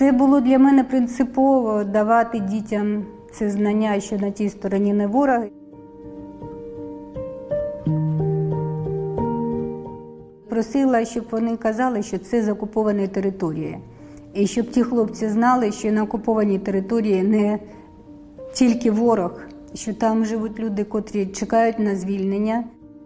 Це було для мене принципово давати дітям це знання, що на тій стороні не вороги. Просила, щоб вони казали, що це з окупованої території. І щоб ті хлопці знали, що на окупованій території не тільки ворог, що там живуть люди, котрі чекають на звільнення.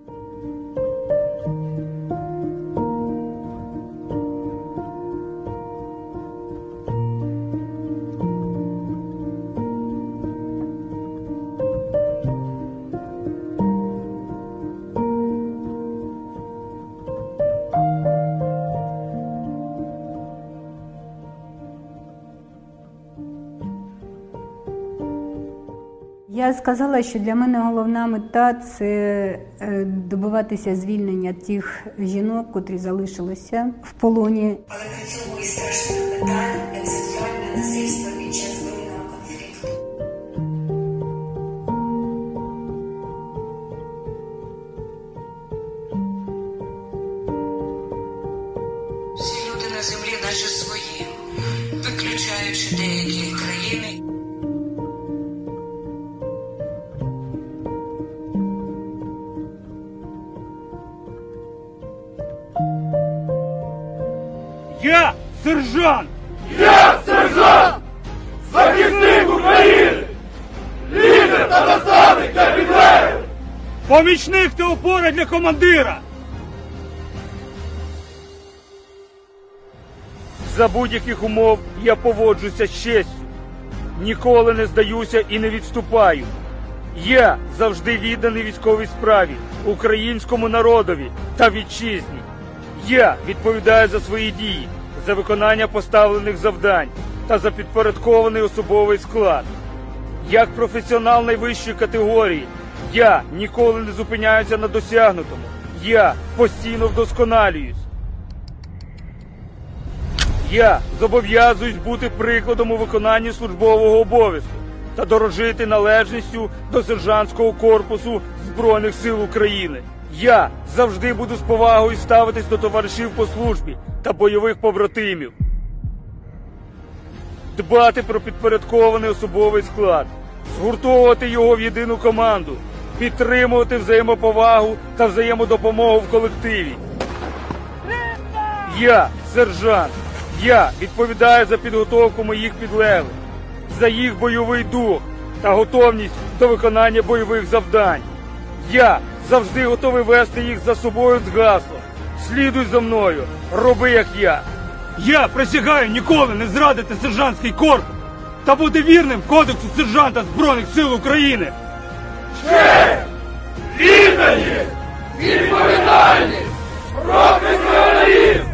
Я сказала, що для мене головна мета – це добиватися звільнення тих жінок, котрі залишилися в полоні. Але при цьому і страшних питань, як сексуальне насильство під час воєнного конфлікту. Всі люди на землі наче свої, виключаючи деякі країни. Я сержант! Я сержант! Захисник України! Лідер та наставник для підлеглих! Помічник та опора для командира! За будь-яких умов я поводжуся з честю. Ніколи не здаюся і не відступаю. Я завжди відданий військовій справі, українському народові та вітчизні. Я відповідаю за свої дії, за виконання поставлених завдань та за підпорядкований особовий склад. Як професіонал найвищої категорії, я ніколи не зупиняюся на досягнутому. Я постійно вдосконалююсь. Я зобов'язуюсь бути прикладом у виконанні службового обов'язку та дорожити належністю до сержантського корпусу Збройних сил України. Я завжди буду з повагою ставитись до товаришів по службі та бойових побратимів. Дбати про підпорядкований особовий склад, згуртовувати його в єдину команду, підтримувати взаємоповагу та взаємодопомогу в колективі. Я сержант. Я відповідаю за підготовку моїх підлеглих, за їх бойовий дух та готовність до виконання бойових завдань. Я завжди готовий вести їх за собою з гаслом. Слідуй за мною, роби як я. Я присягаю ніколи не зрадити сержантський корпус та бути вірним Кодексу сержанта Збройних сил України. Честь! Відданість! Відповідальність! Професіоналізм!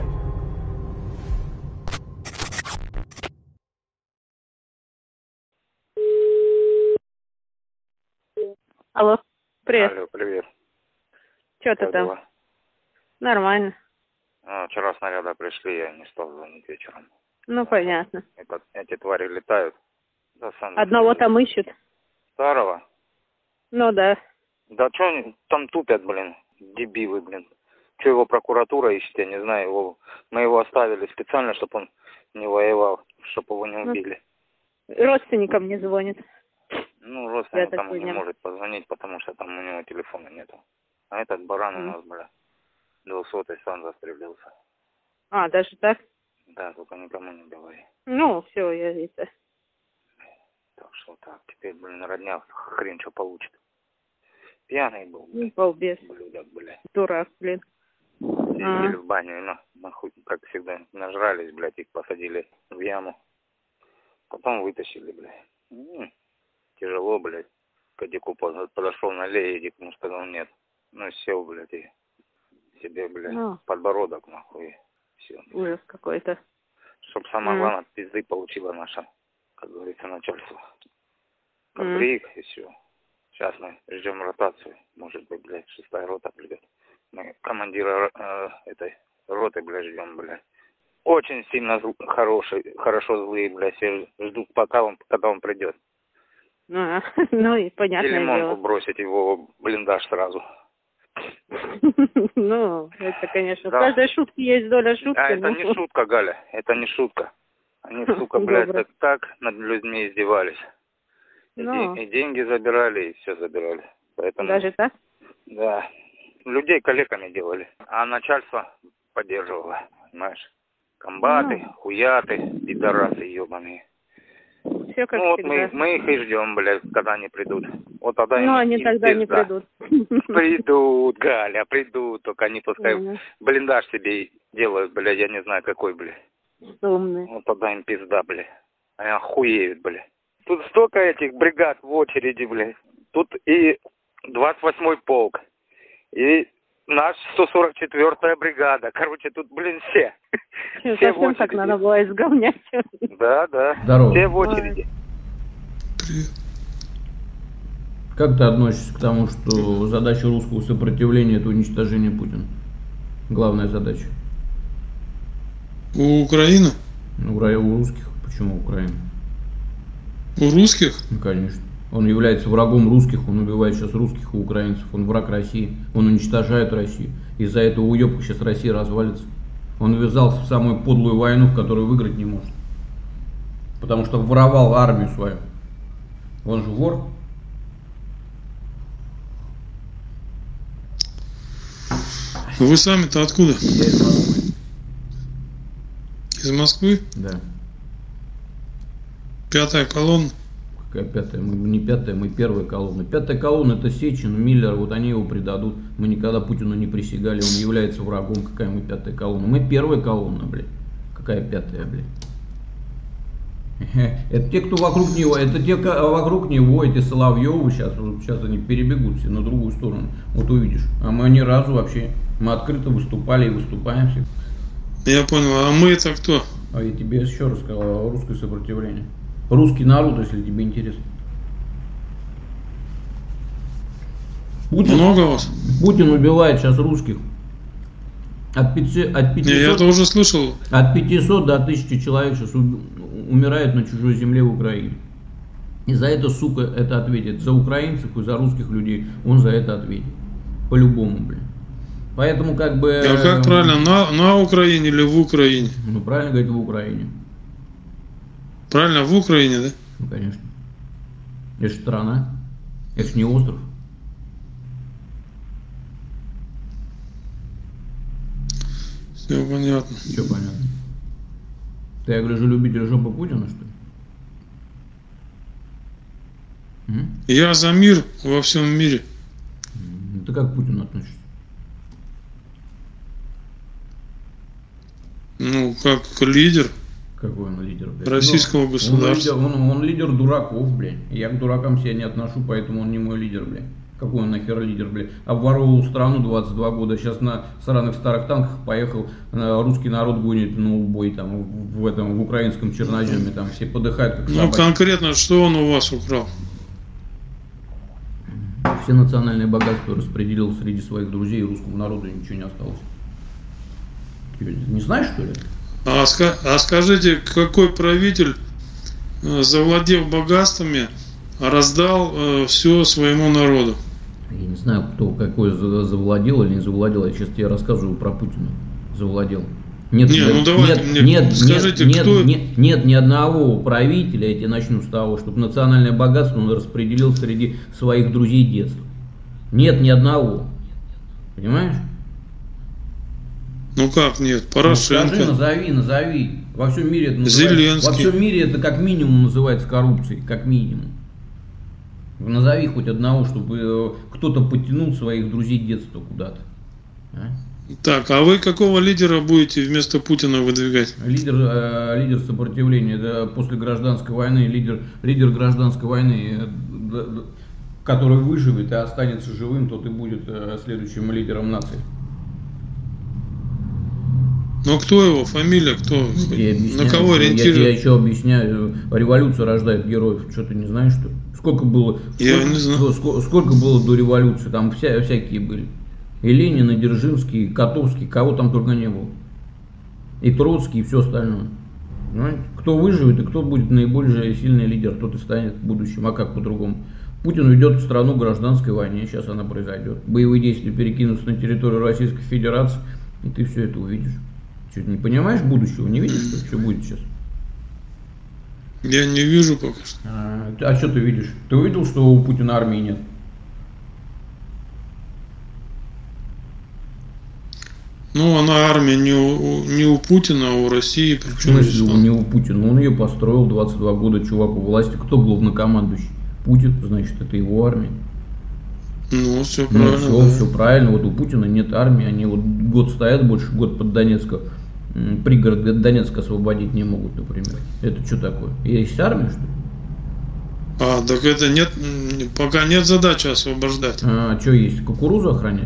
Алло, привет. Алло, привет. Что ты Как там? дела? Нормально. Вчера снаряды пришли, я не стал звонить вечером. Ну, понятно. Эти твари летают. Да, сам Одного там ищут? Старого? Ну, да. Да что они там тупят, блин, дебилы, блин. Что его прокуратура ищет, я не знаю. Мы его оставили специально, чтобы он не воевал, чтобы его не убили. Родственникам не звонит. Ну, родственник там не поняла. может позвонить, потому что там у него телефона нету. А этот баран у нас, бля, 200-й сам застрелился. А, даже так? Да, только никому не говори. Ну, все, я это. Так что так, теперь, блин, родня хрен что получит. Пьяный был, Ну, блин. балбес. Блюдок, блядь. Дурак, блин. Сидели в бане, нахуй, как всегда, нажрались, блядь, их посадили в яму. Потом вытащили, блядь. Тяжело, блядь. К Дику подошел на лей, Дик ему сказал нет. Ну, сел, блядь, и себе, блядь, подбородок, нахуй, все. Ужас какой-то. Чтоб самое главное, пизды получила наша, как говорится, начальство. Как приик, и все. Сейчас мы ждем ротацию. Может быть, блядь, 6-я рота, блядь. Мы командира этой роты, блядь, ждем, блядь. Очень сильно хорошо злые, блядь, все ждут, когда он придет. Ну и понятное Лимонку дело. бросить его в блиндаж сразу. Ну, это, конечно, Да. в каждой шутке есть доля шутки. А это не шутка, Галя, это не шутка. Они, сука, блядь, Добро. так над людьми издевались. Ну. И деньги забирали, и все забирали. Поэтому, Даже так? да, людей калеками делали. А начальство поддерживало, понимаешь? Комбаты, хуяты, пидорасы ебаные. Все как Ну вот всегда. мы их и ждем, блядь, когда они придут. Вот тогда Но им- они им тогда не пизда. придут. Придут, Галя, придут, только они пускай Мгм. блиндаж себе делают, блядь, я не знаю какой, блядь. Умные. Вот тогда им пизда, блядь. Они охуеют, блядь. Тут столько этих бригад в очереди, блядь. Тут и 28-й полк, и наш 144-я бригада. Короче, тут, блин, все. Все в Совсем так очереди. надо было изгонять. Да, да. Здорово. Все в очереди. Как ты относишься к тому, что задача русского сопротивления – это уничтожение Путина? Главная задача. У Украины? У русских. Почему Украина? У русских? Ну, конечно. Он является врагом русских, он убивает сейчас русских и украинцев, он враг России, он уничтожает Россию. Из-за этого уебка сейчас Россия развалится. Он ввязался в самую подлую войну, в которую выиграть не может. Потому что воровал армию свою. Он же вор. Вы сами-то откуда? Я из Москвы. Из Москвы? Да. Пятая колонна? Какая пятая? Мы не пятая, мы первая колонна. Пятая колонна — это Сечин, Миллер, вот они его предадут. Мы никогда Путину не присягали, он является врагом. Какая мы пятая колонна? Мы первая колонна, блядь. Какая пятая, блядь? Это те, кто вокруг него, это те, вокруг него, эти Соловьевы сейчас они перебегут все на другую сторону. Вот увидишь. А мы ни разу вообще, мы открыто выступали и выступаем все. Я понял, а мы это кто? А я тебе еще раз сказал, русское сопротивление. Русский народ, если тебе интересно. Много вас? Путин убивает сейчас русских. От 500 Не, я это уже слышал. от 500 до 1000 человек сейчас умирает на чужой земле в Украине. И за это, сука, это ответит. За украинцев и за русских людей он за это ответит. По-любому, блин. Поэтому как бы... А как правильно, на Украине или в Украине? Ну, правильно говорить, в Украине. Правильно, в Украине, да? Ну, конечно. Это же страна. Это же не остров. Все понятно. Все понятно. Ты, я гляжу, любитель жопы Путина, что ли? Я за мир во всем мире. Ты как к Путину относишься? Ну, как лидер Какой он лидер, блядь? российского государства. Он лидер дураков, блядь. Я к дуракам себя не отношу, поэтому он не мой лидер, блядь. Какой он нахер лидер, блядь? Обворовал страну 22 года, сейчас на сраных старых танках поехал, русский народ гонит на убой там в украинском Черноземе, там все подыхают как Ну, собаки. конкретно, что он у вас украл? Все национальные богатства распределил среди своих друзей, и русскому народу ничего не осталось. Ты не знаешь, что ли? А скажите, какой правитель, завладев богатствами, раздал все своему народу? Я не знаю, кто какой завладел или не завладел. Я сейчас тебе рассказываю про Путина. Завладел. Нет, скажите, кто... нет ни одного правителя, я тебе начну с того, чтобы национальное богатство он распределил среди своих друзей детства. Нет ни одного. Понимаешь? Ну как нет? Порошенко. Ну, скажи, назови. Во всем мире это называется, Зеленский. во всем мире это как минимум называется коррупцией. Как минимум. Назови хоть одного, чтобы кто-то подтянул своих друзей детства куда-то. А? Так, а вы какого лидера будете вместо Путина выдвигать? Лидер сопротивления, да, после гражданской войны, лидер гражданской войны, который выживет и останется живым, тот и будет следующим лидером нации. Ну кто его, фамилия, кто? На кого Я ориентирует? еще объясняю, революция рождает героев, что ты не знаешь, что ли? Сколько было до революции, там всякие были. И Ленин, и Дзержинский, и Котовский, кого там только не было. И Троцкий, и все остальное. Понимаете? Кто выживет и кто будет наиболее сильный лидер, тот и станет в будущем. А как по-другому? Путин уйдет в страну гражданской войны, сейчас она произойдет. Боевые действия перекинутся на территорию Российской Федерации, и ты все это увидишь. Что, не понимаешь будущего? Не видишь, что будет сейчас? Я не вижу пока что. А что ты видишь? Ты увидел, что у Путина армии нет? Ну, она армия не у Путина, а у России. В смысле, не у Путина? Он ее построил 22 года, чувак у власти. Кто главнокомандующий? Путин, значит, это его армия. Ну, все правильно. Все, да. Все правильно. Вот у Путина нет армии. Они вот год стоят, больше год под Донецком. Пригород Донецка освободить не могут, например. Это что такое? Есть армия, что ли? Так это нет, пока нет задачи освобождать. Что есть? Кукурузу охранять?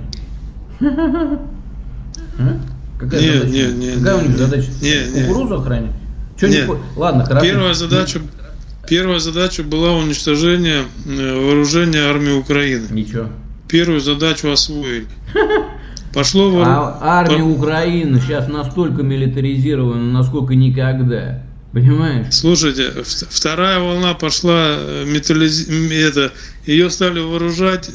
Какая у них задача? Кукурузу охранять? Ладно, хорошо. Первая задача была уничтожение вооружения армии Украины. Ничего. Первую задачу освоили. Пошло армия Украины сейчас настолько милитаризирована, насколько никогда. Понимаешь? Слушайте, вторая волна пошла, ее стали вооружать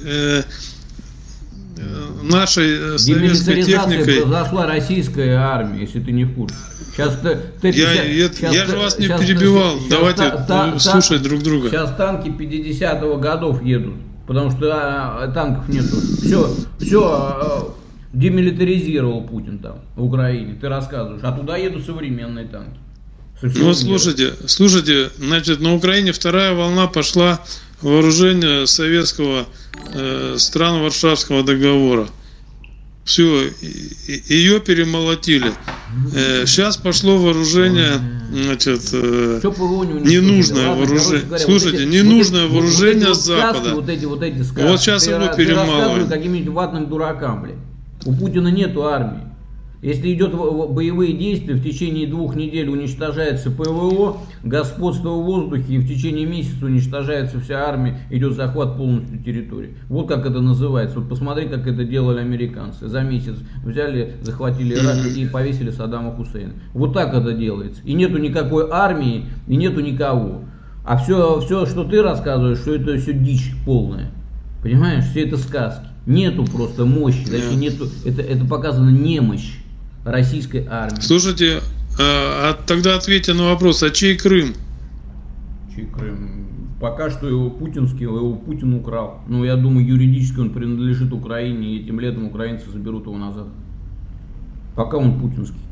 нашей советской техникой. Произошла российская армия, если ты не в курсе. Сейчас я же вас не перебивал. Давайте слушать друг друга. Сейчас танки 50-го годов едут, потому что танков нету. Все демилитаризировал Путин там в Украине. Ты рассказываешь, а туда едут современные танки. Ну, слушайте, значит, на Украине вторая волна пошла вооружение советского стран Варшавского договора. Все, ее перемолотили. Сейчас пошло вооружение, значит, ненужное вооружение. Слушайте, ненужное вооружение с Запада. Вот эти сказки. Вот сейчас его перемалывают. Каким-нибудь ватным дуракам, блин. У Путина нету армии. Если идет боевые действия, в течение 2 недель уничтожается ПВО, господство в воздухе, и в течение месяца уничтожается вся армия, идет захват полностью территории. Вот как это называется. Вот посмотри, как это делали американцы. За месяц взяли, захватили Ирак и повесили Саддама Хусейна. Вот так это делается. И нету никакой армии, и нету никого. А все, что ты рассказываешь, что это все дичь полная. Понимаешь, все это сказки. Нету просто мощи, точнее, нету, это показано немощь российской армии. Слушайте, тогда ответьте на вопрос, а чей Крым? Чей Крым? Пока что его путинский, его Путин украл. Но я думаю, юридически он принадлежит Украине, и этим летом украинцы заберут его назад. Пока он путинский.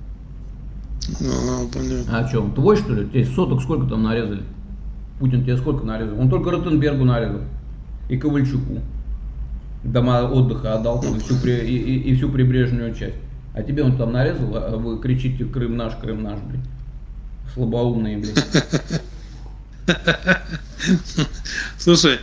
Понятно. А что, он твой, что ли? Тебе соток сколько там нарезали? Путин тебе сколько нарезал? Он только Ротенбергу нарезал. И Ковальчуку. Дома отдыха отдал и всю прибрежную часть. А тебе он там нарезал, а вы кричите Крым наш, блин. Слабоумные, блин. Слушай,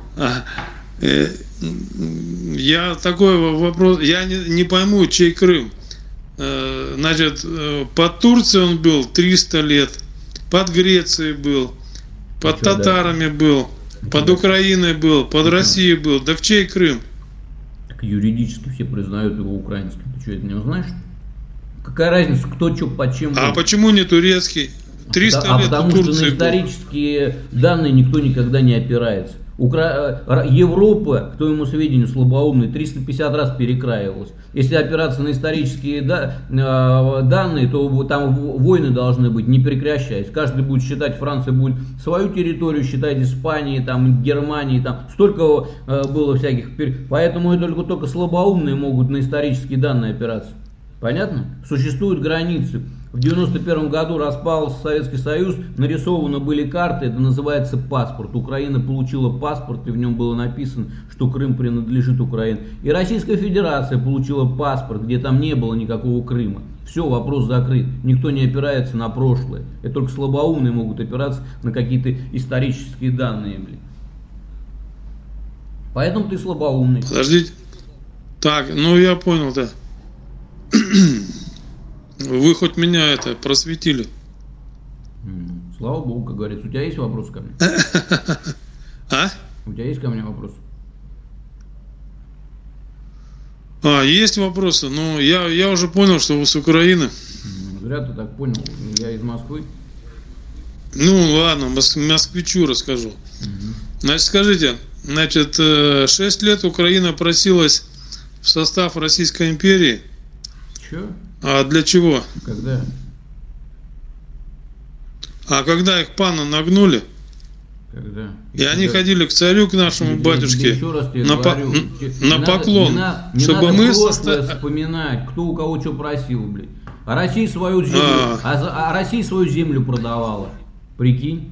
я такой вопрос, я не пойму, чей Крым. Значит, под Турцией он был 300 лет, под Грецией был, под татарами был, под Украиной был, под Россией был. Да в чей Крым? Так юридически все признают его украинским. Ты что, это не знаешь? Какая разница, кто что под чем был? А почему не турецкий? 300 лет потому у Турции что на исторические данные никто никогда не опирается. Европа, к твоему сведению, слабоумный, 350 раз перекраивалась. Если опираться на исторические данные, то там войны должны быть, не прекращаясь. Каждый будет считать, Франция будет свою территорию считать, Испании, там, Германии, там столько было всяких. Поэтому только слабоумные могут на исторические данные опираться. Понятно? Существуют границы. В 91 году распался Советский Союз, нарисованы были карты, это называется паспорт. Украина получила паспорт, и в нем было написано, что Крым принадлежит Украине. И Российская Федерация получила паспорт, где там не было никакого Крыма. Все, вопрос закрыт. Никто не опирается на прошлое. Это только слабоумные могут опираться на какие-то исторические данные. Блин. Поэтому ты слабоумный. Подождите. Так, ну я понял, да. Вы хоть меня это просветили. Слава Богу, как говорится. У тебя есть вопрос ко мне? А? У тебя есть ко мне вопрос? Есть вопросы, но я уже понял, что вы с Украины. Зря ты так понял. Я из Москвы. Ну ладно, москвичу расскажу. Значит, скажите, 6 лет Украина просилась в состав Российской империи. Че? А для чего? Когда? А когда их пана нагнули, Когда? и они ходили к царю, к нашему батюшке, Еще раз тебе на говорю, поклон, не чтобы надо мы прошлое вспоминать, кто у кого что просил, блядь. А Россия свою землю, Россия свою землю продавала. Прикинь?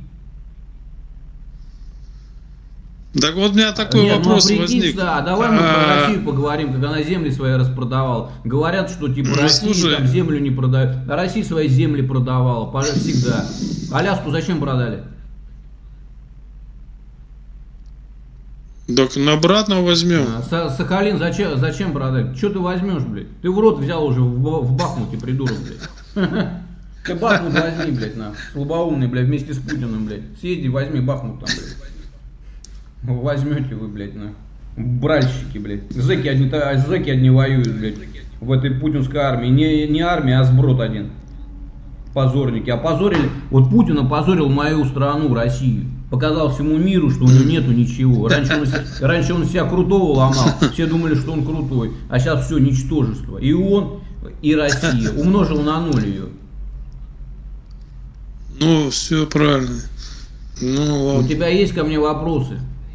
Так вот у меня такой вопрос возник. Да, давай мы про Россию поговорим, как она земли свои распродавала. Говорят, что типа Россия там землю не продает. А Россия свои земли продавала, всегда. Аляску зачем продали? Так обратно возьмем. Сахалин зачем продать? Что ты возьмешь, блядь? Ты в рот взял уже в Бахмуте, придурок, блядь. Ты Бахмут возьми, блядь, на. Слабоумный, блядь, вместе с Путиным, блядь. Съезди, возьми Бахмут там, блядь. Возьмете вы, блядь, на. Бральщики, блядь. Зэки одни воюют, блядь. В этой путинской армии. Не армия, а сброд один. Позорники. Опозорили. Вот Путин опозорил мою страну, Россию. Показал всему миру, что у него нету ничего. Раньше он себя крутого ломал. Все думали, что он крутой. А сейчас все ничтожество. И он, и Россия. Умножил на ноль ее. Ну, все правильно. Ну, ладно. У тебя есть ко мне вопросы?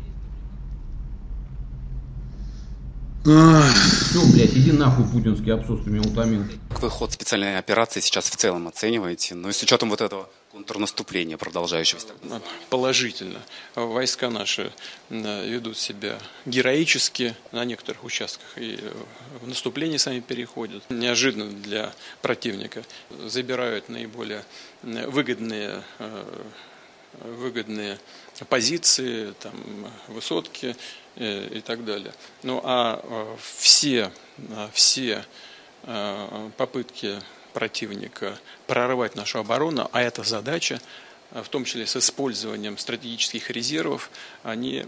Все, блядь, иди нахуй, путинский абсос, ты меня утомил. Какой ход специальной операции сейчас в целом оцениваете? Ну и с учетом вот этого контрнаступления продолжающегося. Положительно. Войска наши ведут себя героически на некоторых участках и в наступление сами переходят. Неожиданно для противника забирают наиболее выгодные позиции, там, высотки и так далее. Ну а все попытки противника прорвать нашу оборону, а это задача, в том числе с использованием стратегических резервов, они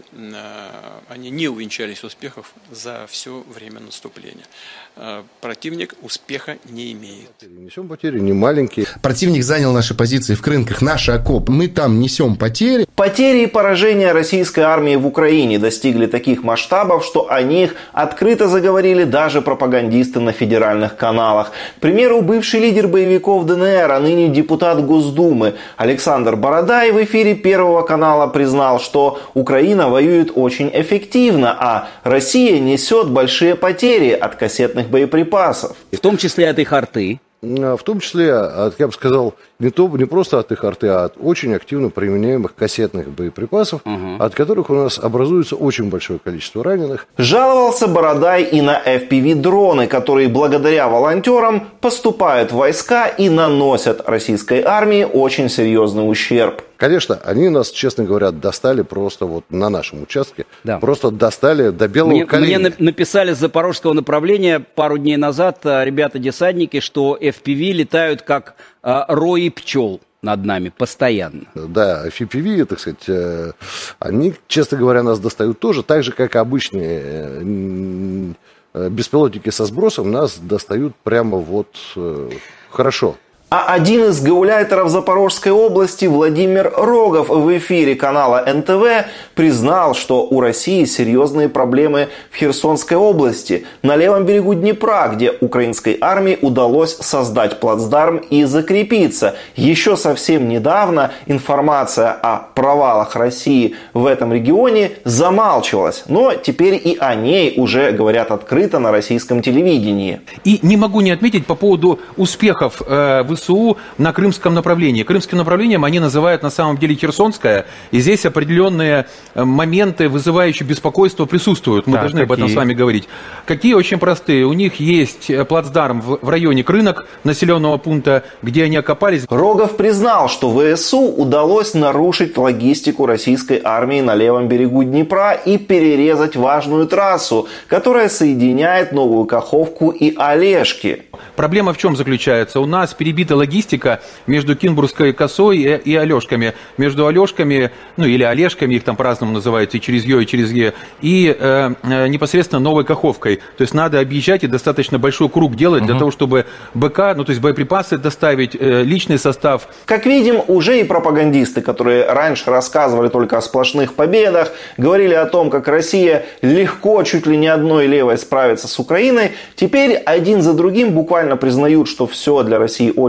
не увенчались успехов за все время наступления. Противник успеха не имеет. Несем потери не маленькие. Противник занял наши позиции в Крынках, наши окопы. Мы там несем потери. Потери и поражения российской армии в Украине достигли таких масштабов, что о них открыто заговорили даже пропагандисты на федеральных каналах. К примеру, бывший лидер боевиков ДНР, а ныне депутат Госдумы Александр Бородай в эфире Первого канала признал, что Украина воюет очень эффективно, а Россия несет большие потери от кассетных боеприпасов. В том числе от их арты. В том числе, я бы сказал, не просто от их арты, а от очень активно применяемых кассетных боеприпасов, от которых у нас образуется очень большое количество раненых. Жаловался Бородай и на FPV-дроны, которые благодаря волонтерам поступают в войска и наносят российской армии очень серьезный ущерб. Конечно, они нас, честно говоря, достали просто вот на нашем участке. Да. Просто достали до белого коленя. Мне написали с запорожского направления пару дней назад ребята-десантники, что FPV летают как рои пчел над нами постоянно. Да, FPV, так сказать, они, честно говоря, нас достают тоже, так же, как обычные беспилотники со сбросом, нас достают прямо вот хорошо. А один из гауляйтеров Запорожской области, Владимир Рогов, в эфире канала НТВ признал, что у России серьезные проблемы в Херсонской области, на левом берегу Днепра, где украинской армии удалось создать плацдарм и закрепиться. Еще совсем недавно информация о провалах России в этом регионе замалчивалась, но теперь и о ней уже говорят открыто на российском телевидении. И не могу не отметить по поводу успехов ВСУ на крымском направлении. Крымским направлением они называют на самом деле Херсонское, и здесь определенные моменты, вызывающие беспокойство, присутствуют. Мы должны об этом с вами говорить. Какие? Очень простые. У них есть плацдарм в районе Крынок, населенного пункта, где они окопались. Рогов признал, что ВСУ удалось нарушить логистику российской армии на левом берегу Днепра и перерезать важную трассу, которая соединяет Новую Каховку и Олешки. Проблема в чем заключается? У нас перебита логистика между Кинбургской косой и Олешками. Между Олешками, ну или Олешками, их там по-разному называют, и через Е, и непосредственно Новой Каховкой. То есть надо объезжать и достаточно большой круг делать для того, чтобы БК, ну то есть боеприпасы доставить, личный состав. Как видим, уже и пропагандисты, которые раньше рассказывали только о сплошных победах, говорили о том, как Россия легко, чуть ли не одной левой справится с Украиной, теперь один за другим буквально признают, что все для России очень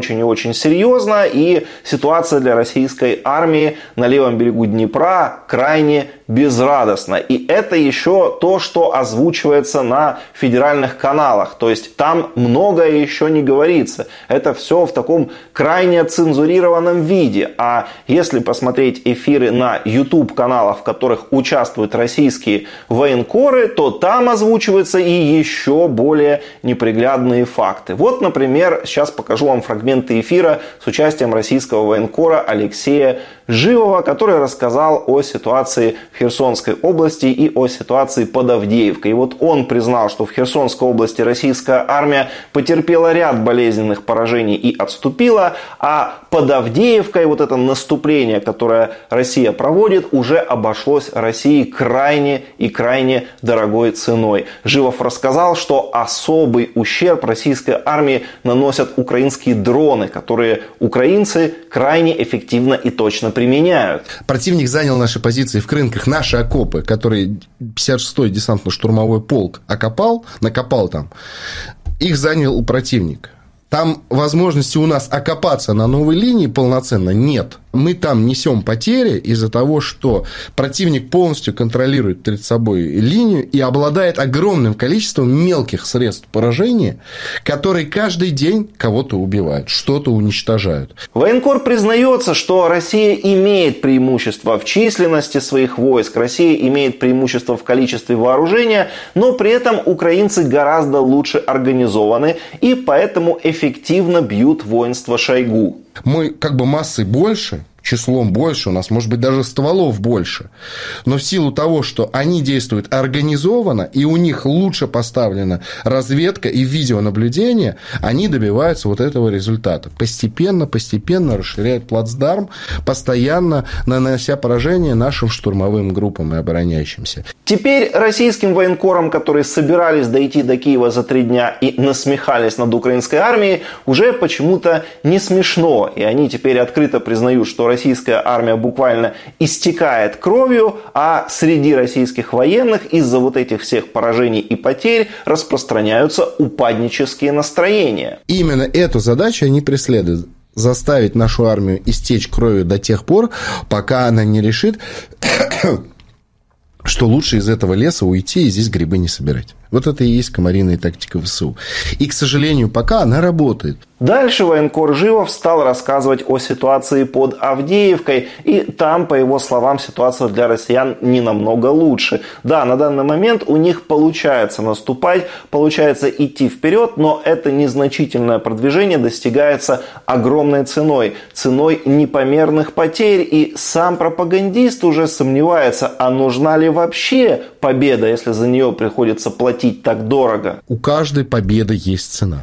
очень и очень серьезно, и ситуация для российской армии на левом берегу Днепра крайне безрадостна. И это еще то, что озвучивается на федеральных каналах. То есть там многое еще не говорится. Это все в таком крайне цензурированном виде. А если посмотреть эфиры на YouTube-каналах, в которых участвуют российские военкоры, то там озвучиваются и еще более неприглядные факты. Вот, например, сейчас покажу вам фрагменты эфира с участием российского военкора Алексея Живого, который рассказал о ситуации в Херсонской области и о ситуации под Авдеевкой. И вот он признал, что в Херсонской области российская армия потерпела ряд болезненных поражений и отступила, а под Авдеевкой вот это наступление, которое Россия проводит, уже обошлось России крайне и крайне дорогой ценой. Живов рассказал, что особый ущерб российской армии наносят украинские дроны, которые украинцы крайне эффективно и точно применяют. Противник занял наши позиции в Крынках, наши окопы, которые 56-й десантно-штурмовой полк накопал там, их занял противник. Там возможности у нас окопаться на новой линии полноценно нет. Мы там несем потери из-за того, что противник полностью контролирует перед собой линию и обладает огромным количеством мелких средств поражения, которые каждый день кого-то убивают, что-то уничтожают. Военкор признается, что Россия имеет преимущество в численности своих войск, Россия имеет преимущество в количестве вооружения, но при этом украинцы гораздо лучше организованы и поэтому эффективно бьют воинство Шойгу. Мы как бы массой больше, числом больше, у нас может быть даже стволов больше, но в силу того, что они действуют организованно и у них лучше поставлена разведка и видеонаблюдение, они добиваются вот этого результата. Постепенно расширяют плацдарм, постоянно нанося поражение нашим штурмовым группам и обороняющимся. Теперь российским военкорам, которые собирались дойти до Киева за 3 дня и насмехались над украинской армией, уже почему-то не смешно. И они теперь открыто признают, что российская армия буквально истекает кровью, а среди российских военных из-за вот этих всех поражений и потерь распространяются упаднические настроения. Именно эту задачу они преследуют. Заставить нашу армию истечь кровью до тех пор, пока она не решит, что лучше из этого леса уйти и здесь грибы не собирать. Вот это и есть комариная тактика ВСУ. И, к сожалению, пока она работает. Дальше военкор Живов стал рассказывать о ситуации под Авдеевкой. И там, по его словам, ситуация для россиян не намного лучше. Да, на данный момент у них получается наступать, получается идти вперед, но это незначительное продвижение достигается огромной ценой. Ценой непомерных потерь. И сам пропагандист уже сомневается, а нужна ли вообще победа, если за нее приходится платить так дорого. У каждой победы есть цена.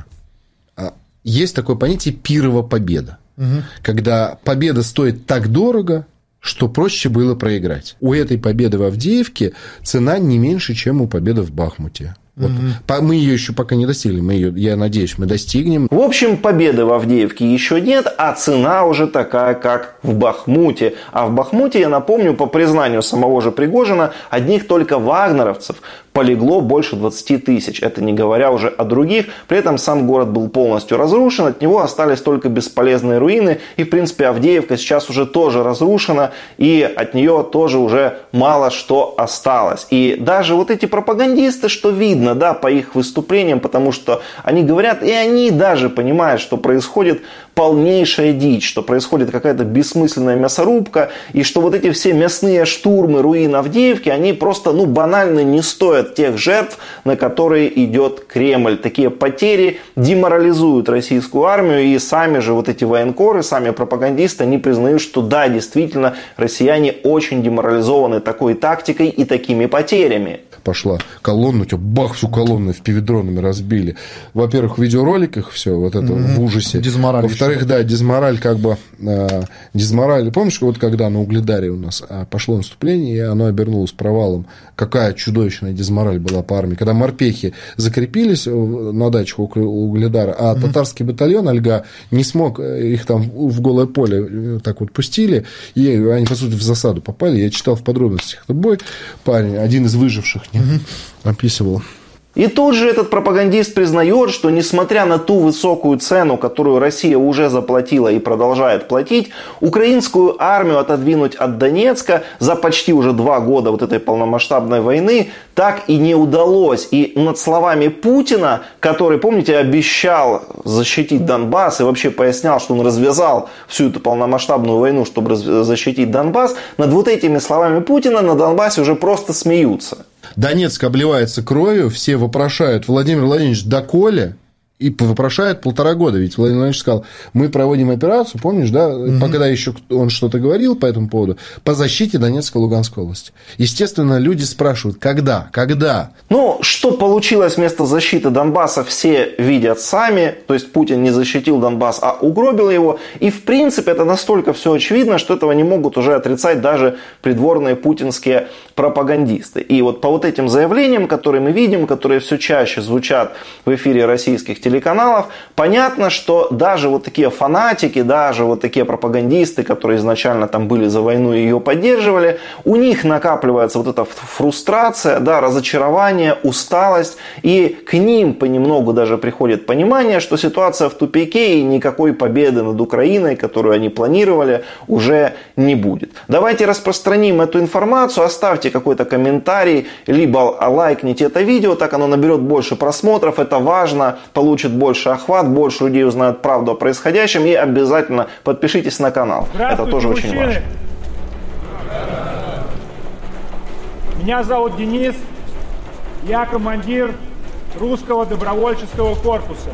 Есть такое понятие пирова победа. Когда победа стоит так дорого, что проще было проиграть. У этой победы в Авдеевке цена не меньше, чем у победы в Бахмуте. Вот. Мы ее еще пока не достигли, я надеюсь, мы достигнем. В общем, победы в Авдеевке еще нет, а цена уже такая, как в Бахмуте. А в Бахмуте, я напомню, по признанию самого же Пригожина, одних только вагнеровцев полегло больше 20 тысяч. Это не говоря уже о других. При этом сам город был полностью разрушен, от него остались только бесполезные руины. И, в принципе, Авдеевка сейчас уже тоже разрушена, и от нее тоже уже мало что осталось. И даже вот эти пропагандисты, что видно, да, по их выступлениям, потому что они говорят, и они даже понимают, что происходит полнейшая дичь, что происходит какая-то бессмысленная мясорубка, и что вот эти все мясные штурмы руин Авдеевки, они просто, банально не стоят тех жертв, на которые идет Кремль. Такие потери деморализуют российскую армию, и сами же вот эти военкоры, сами пропагандисты, они признают, что да, действительно, россияне очень деморализованы такой тактикой и такими потерями. Пошла колонна, у тебя бах, всю колонну впивидронами разбили. Во-первых, в видеороликах все вот это в ужасе. Дизмораль. Во-вторых, да, дизмораль дизмораль. Помнишь, вот когда на Угледаре у нас пошло наступление, и оно обернулось провалом, какая чудовищная дизмораль была по армии. Когда морпехи закрепились на дачах Угледара, а татарский батальон Ольга не смог, их там в голое поле так вот пустили, и они, по сути, в засаду попали. Я читал в подробностях этот бой. Парень, один из выживших, описывал. И тут же этот пропагандист признает, что несмотря на ту высокую цену, которую Россия уже заплатила и продолжает платить, украинскую армию отодвинуть от Донецка за почти уже 2 года вот этой полномасштабной войны так и не удалось. И над словами Путина, который, помните, обещал защитить Донбасс и вообще пояснял, что он развязал всю эту полномасштабную войну, чтобы защитить Донбасс, над вот этими словами Путина на Донбассе уже просто смеются. Донецк обливается кровью, все вопрошают: Владимир Владимирович, доколе? И вопрошают 1,5 года. Ведь Владимир Владимирович сказал: мы проводим операцию, помнишь, да, когда еще он что-то говорил по этому поводу, по защите Донецкой и Луганской области. Естественно, люди спрашивают: когда? Ну, что получилось вместо защиты Донбасса, все видят сами. То есть Путин не защитил Донбасс, а угробил его. И в принципе это настолько все очевидно, что этого не могут уже отрицать даже придворные путинские пропагандисты. И вот по вот этим заявлениям, которые мы видим, которые все чаще звучат в эфире российских телеканалов, понятно, что даже вот такие фанатики, даже вот такие пропагандисты, которые изначально там были за войну и ее поддерживали, у них накапливается вот эта фрустрация, да, разочарование, усталость, и к ним понемногу даже приходит понимание, что ситуация в тупике и никакой победы над Украиной, которую они планировали, уже не будет. Давайте распространим эту информацию, оставьте какой-то комментарий, либо лайкните это видео, так оно наберет больше просмотров, это важно, получит больше охват, больше людей узнают правду о происходящем, и обязательно подпишитесь на канал. Это тоже очень важно. Меня зовут Денис, я командир русского добровольческого корпуса.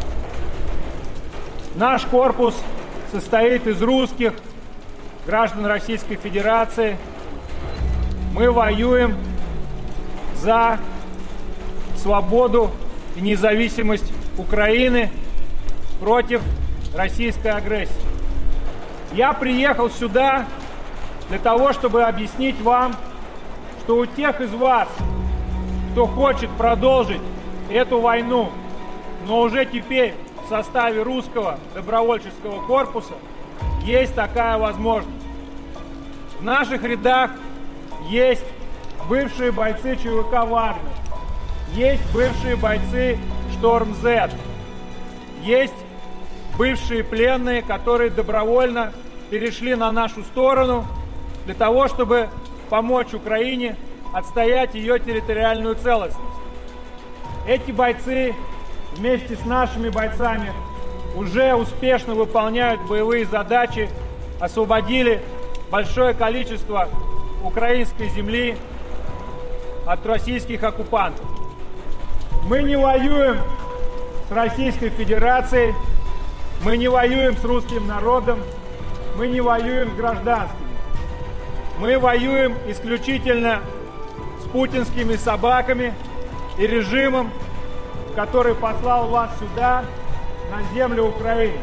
Наш корпус состоит из русских граждан Российской Федерации. Мы воюем за свободу и независимость Украины против российской агрессии. Я приехал сюда для того, чтобы объяснить вам, что у тех из вас, кто хочет продолжить эту войну, но уже теперь в составе русского добровольческого корпуса, есть такая возможность. В наших рядах есть бывшие бойцы ЧВК «Вагнер», есть бывшие бойцы «Шторм Z», есть бывшие пленные, которые добровольно перешли на нашу сторону для того, чтобы помочь Украине отстоять ее территориальную целостность. Эти бойцы вместе с нашими бойцами уже успешно выполняют боевые задачи, освободили большое количество украинской земли от российских оккупантов. Мы не воюем с Российской Федерацией, мы не воюем с русским народом, мы не воюем с гражданскими. Мы воюем исключительно с путинскими собаками и режимом, который послал вас сюда, на землю Украины.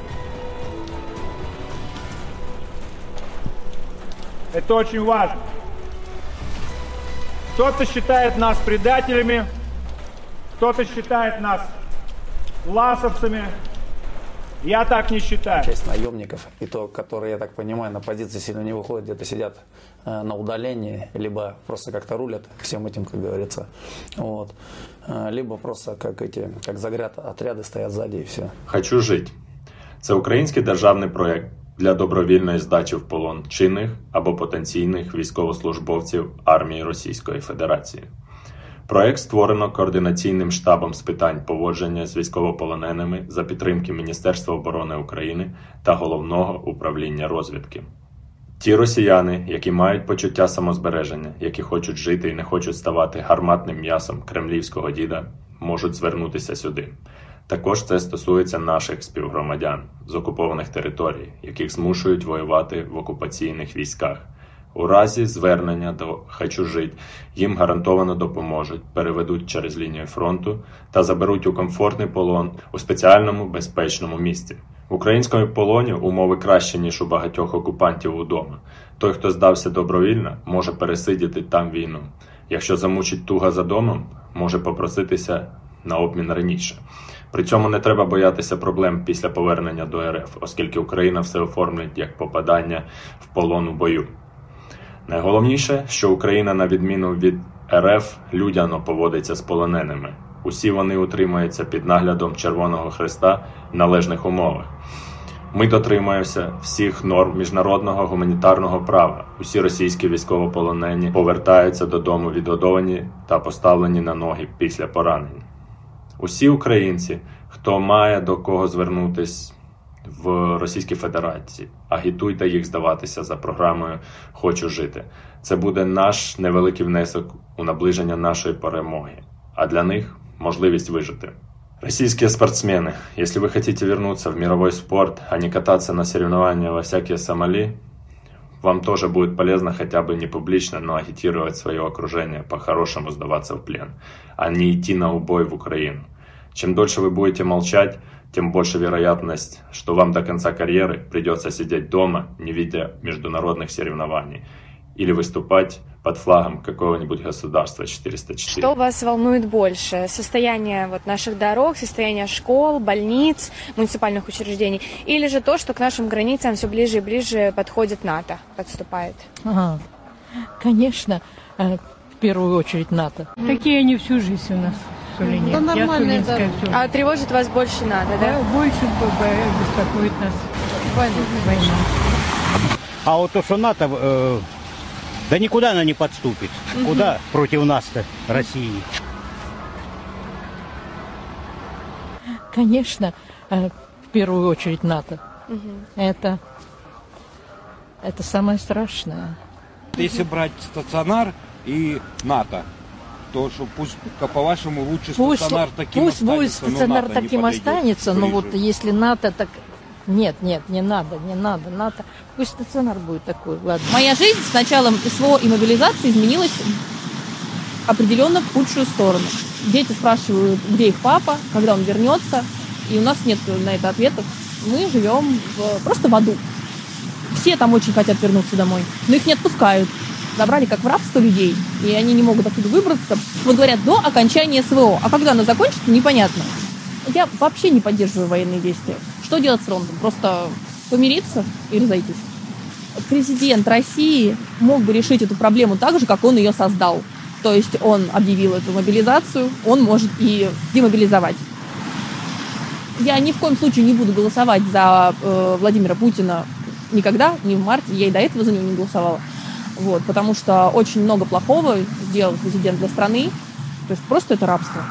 Это очень важно. Кто-то считает нас предателями, кто-то считает нас ласовцами. Я так не считаю. Часть наемников, и то, которые, я так понимаю, на позиции сильно не выходят, где-то сидят на удалении, либо просто как-то рулят всем этим, как говорится. Вот. Либо просто как загряд отряди стоять ззаді і все. «Хочу жити» – це український державний проєкт для добровільної здачі в полон чинних або потенційних військовослужбовців армії Російської Федерації. Проєкт створено Координаційним штабом з питань поводження з військовополоненими за підтримки Міністерства оборони України та Головного управління розвідки. Ті росіяни, які мають почуття самозбереження, які хочуть жити і не хочуть ставати гарматним м'ясом кремлівського діда, можуть звернутися сюди. Також це стосується наших співгромадян з окупованих територій, яких змушують воювати в окупаційних військах. У разі звернення до «Хочу жити» їм гарантовано допоможуть, переведуть через лінію фронту та заберуть у комфортний полон у спеціальному безпечному місці. В українському полоні умови кращі, ніж у багатьох окупантів удома. Той, хто здався добровільно, може пересидіти там війну. Якщо замучить туга за домом, може попроситися на обмін раніше. При цьому не треба боятися проблем після повернення до РФ, оскільки Україна все оформить як попадання в полон у бою. Найголовніше, що Україна, на відміну від РФ, людяно поводиться з полоненими. Усі вони утримуються під наглядом Червоного Хреста в належних умовах. Ми дотримуємося всіх норм міжнародного гуманітарного права. Усі російські військовополонені повертаються додому відгодовані та поставлені на ноги після поранень. Усі українці, хто має до кого звернутись в Російській Федерації, агітуйте їх здаватися за програмою «Хочу жити». Це буде наш невеликий внесок у наближення нашої перемоги, а для них можливість вижити. Российские спортсмены, если вы хотите вернуться в мировой спорт, а не кататься на соревнования во всякие Сомали, вам тоже будет полезно хотя бы не публично, но агитировать свое окружение по-хорошему сдаваться в плен, а не идти на убой в Украину. Чем дольше вы будете молчать, тем больше вероятность, что вам до конца карьеры придется сидеть дома, не видя международных соревнований, или выступать под флагом какого-нибудь государства 404. Что вас волнует больше? Состояние наших дорог, состояние школ, больниц, муниципальных учреждений? Или же то, что к нашим границам все ближе и ближе подходит НАТО, подступает? Ага. Конечно, в первую очередь НАТО. Такие они всю жизнь у нас в Сулине. Да нормально это. А тревожит вас больше НАТО, да? Больше беспокоит нас война. А вот то, что НАТО... Да никуда она не подступит. Куда против нас-то, России? Конечно, в первую очередь НАТО. Это самое страшное. Если брать стационар и НАТО, то что пусть, по-вашему, лучше стационар таким пусть останется. Пусть будет стационар таким останется, но вот если НАТО так... Нет, не надо, НАТО. Пусть стационар будет такой, ладно. Моя жизнь с началом СВО и мобилизации изменилась определенно в худшую сторону. Дети спрашивают, где их папа, когда он вернется, и у нас нет на это ответов. Мы живем просто в аду. Все там очень хотят вернуться домой, но их не отпускают. Забрали как в рабство людей, и они не могут оттуда выбраться. Вот говорят, до окончания СВО. А когда оно закончится, непонятно. Я вообще не поддерживаю военные действия. Что делать с фронтом? Просто помириться и разойтись? Президент России мог бы решить эту проблему так же, как он ее создал. То есть он объявил эту мобилизацию, он может и демобилизовать. Я ни в коем случае не буду голосовать за Владимира Путина никогда, ни в марте. Я и до этого за него не голосовала. Вот, потому что очень много плохого сделал президент для страны. То есть просто это рабство.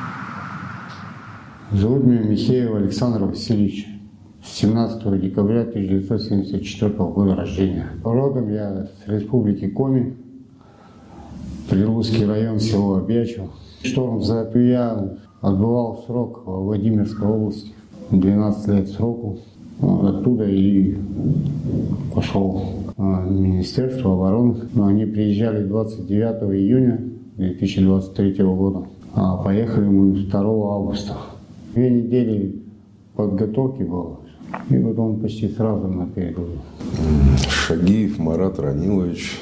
Зовут меня Михеев Александр Васильевич. 17 декабря 1974 года рождения. Родом я с республики Коми, Прилузский район, село Обьячево. Шторм ЗАП я отбывал срок в Владимирской области, 12 лет сроку. Оттуда и пошел в Министерство обороны. Но они приезжали 29 июня 2023 года, а поехали мы 2 августа. 2 недели подготовки было, и потом почти сразу на передовую. Шагиев Марат Ранилович,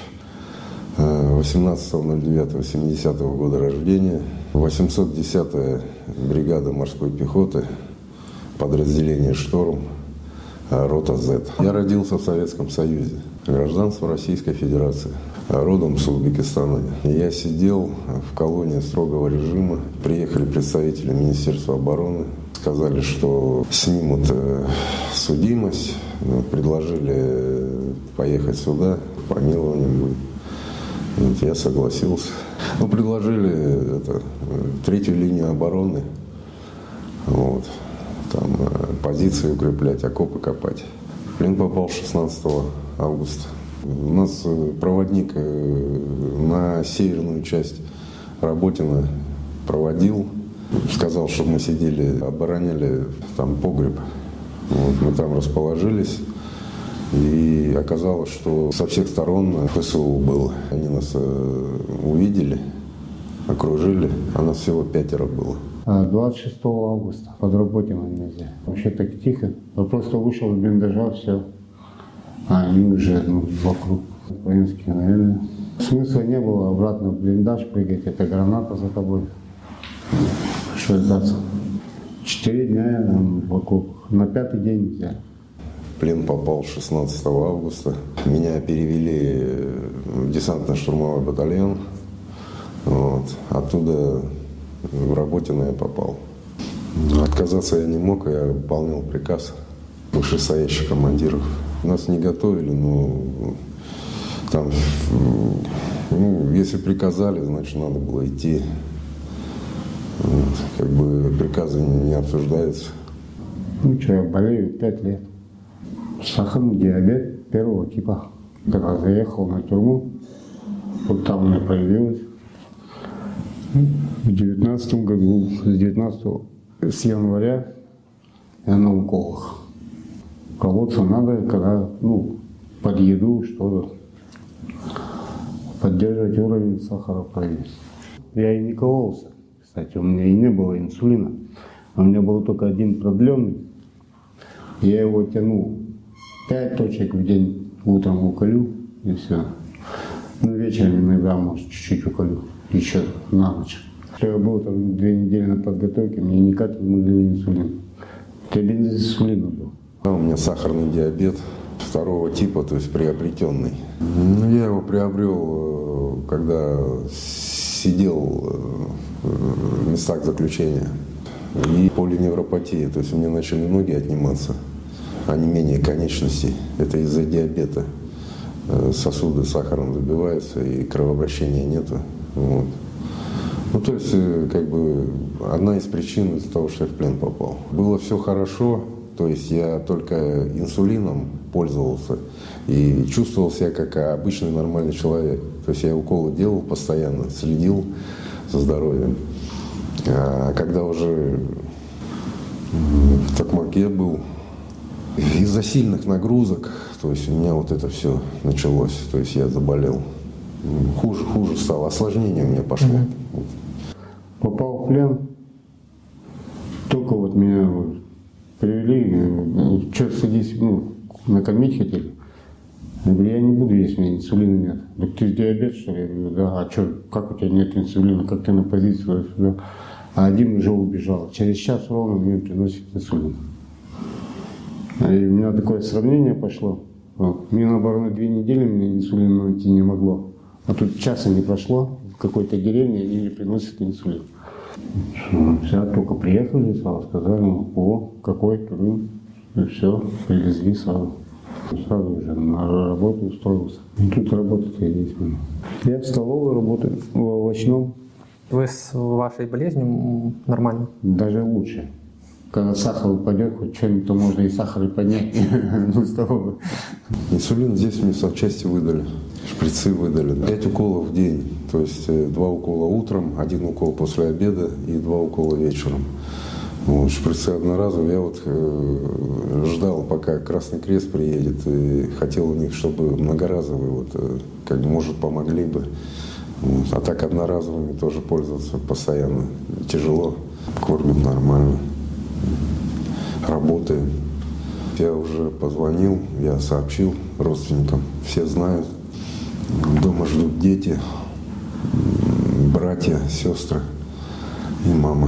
18.09.70 года рождения, 810-я бригада морской пехоты, подразделение «Шторм», рота «З». Я родился в Советском Союзе, гражданство Российской Федерации, родом с Узбекистана. Я сидел в колонии строгого режима. Приехали представители Министерства обороны, сказали, что снимут судимость, предложили поехать сюда, помилование будет. Вот, я согласился. Предложили третью линию обороны, вот, там позиции укреплять, окопы копать. В плен попал 16 августа. У нас проводник на северную часть Работино проводил. Сказал, чтобы мы сидели, обороняли там погреб. Вот, мы там расположились. И оказалось, что со всех сторон ФСУ было. Они нас увидели, окружили, а нас всего 5 было. 26 августа под Работино нельзя. Вообще так тихо. Я просто вышел из блиндажа, все. А они уже вокруг. Украинские, наверное. Смысла не было обратно в блиндаж прыгать. Это граната за тобой. Что ждаться? 4 дня я там в окопах. На 5-й день взяли. В плен попал 16 августа. Меня перевели в десантно-штурмовой батальон. Вот. Оттуда в Работино я попал. Отказаться я не мог, я выполнял приказ вышестоящих командиров. Нас не готовили, но там, если приказали, значит, надо было идти. Вот, как бы приказы не обсуждаются. Что, я болею 5 лет. Сахарный диабет первого типа. Когда заехал на тюрьму, вот там у меня появилось. В 19 году, с января я на уколах. Колоться надо, когда, под еду что-то. Поддерживать уровень сахара в крови. Я и не кололся. Кстати, у меня и не было инсулина. У меня был только один продленный. Я его тянул 5 точек в день. Утром уколю и все. Вечером иногда, может, чуть-чуть уколю. Еще на ночь. Что я был там 2 недели на подготовке, мне никак не могли инсулин. Я без инсулина был. У меня сахарный диабет 2 типа, то есть приобретенный. Я его приобрел, когда сидел в местах заключения. И полиневропатия, то есть у меня начали ноги отниматься, онемение конечностей. Это из-за диабета. Сосуды сахаром забиваются и кровообращения нету. Вот. То есть, как бы, одна из причин из-за того, что я в плен попал. Было все хорошо, то есть я только инсулином пользовался и чувствовал себя как обычный нормальный человек. То есть я уколы делал постоянно, следил за здоровьем. А когда уже в Токмаке был, из-за сильных нагрузок, то есть у меня вот это все началось, то есть я заболел. Хуже стало, осложнение у меня пошло. Попал в плен, только вот меня привели, что садись, накормить хотели. Я говорю, я не буду, если у меня инсулина нет. Так ты диабет, что ли? Я говорю, да, а что, как у тебя нет инсулина, как ты на позиции сюда? А один уже убежал. Через час ровно мне приносит инсулин. И у меня такое сравнение пошло. Вот. Мне, наоборот, 2 недели мне инсулин найти не могло. А тут часа не прошло, в какой-то деревне они мне приносят инсулин. Все, только приехали, сразу сказали, какой Крым. И все, привезли сразу. Сразу уже на работу устроился. И тут работать-то есть. Я в столовой работаю, в овощном. Вы с вашей болезнью нормально? Даже лучше. Когда сахар упадет, хоть что-нибудь, то можно и сахар и поднять в столовой. Инсулин здесь мне санчасти выдали, шприцы выдали. 5 уколов в день, то есть 2 укола утром, 1 укол после обеда и 2 укола вечером. Вот, шприцы одноразовые. Я ждал, пока Красный Крест приедет, и хотел у них, чтобы многоразовые, может, помогли бы. Вот. А так одноразовыми тоже пользоваться постоянно тяжело. Кормят нормально. Работаем. Я уже позвонил, я сообщил родственникам. Все знают. Дома ждут дети, братья, сестры и мама.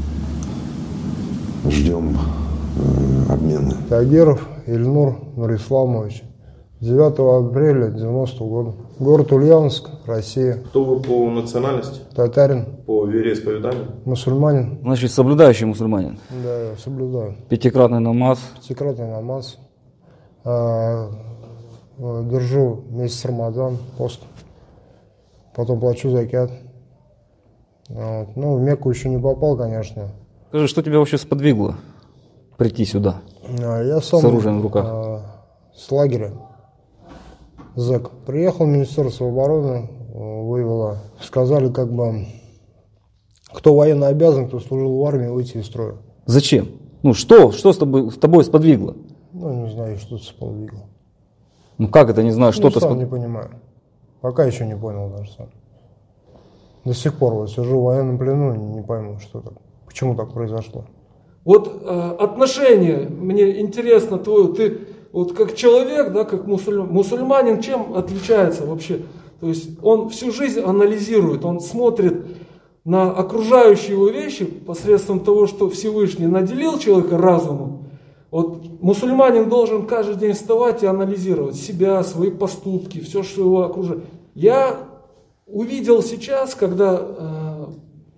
Ждем обмена. Тагиров Ильнур Нурисламович. 9 апреля 90 года. Город Ульяновск, Россия. Кто вы по национальности? Татарин. По вероисповеданию? Мусульманин. Значит, соблюдающий мусульманин? Да, я соблюдаю. 5-кратный намаз? 5-кратный намаз. Держу месяц Рамадан, пост. Потом плачу закят. Вот. В Мекку еще не попал, конечно. Скажи, что тебя вообще сподвигло прийти сюда? Я сам с оружием в руках. С лагеря. Зэк. Приехал в Министерство обороны, вывело. Сказали, кто военно обязан, кто служил в армии, выйти из строя. Зачем? Что с тобой сподвигло? Не знаю, что это сподвигло. Как это, не знаю, что-то сам не понимаю. Пока еще не понял даже сам. До сих пор сижу в военном плену, не пойму, почему так произошло. Отношение, мне интересно твое, ты как человек, да, как мусульманин, чем отличается вообще? То есть он всю жизнь анализирует, он смотрит на окружающие его вещи посредством того, что Всевышний наделил человека разумом. Мусульманин должен каждый день вставать и анализировать себя, свои поступки, все, что его окружает. Я увидел сейчас, когда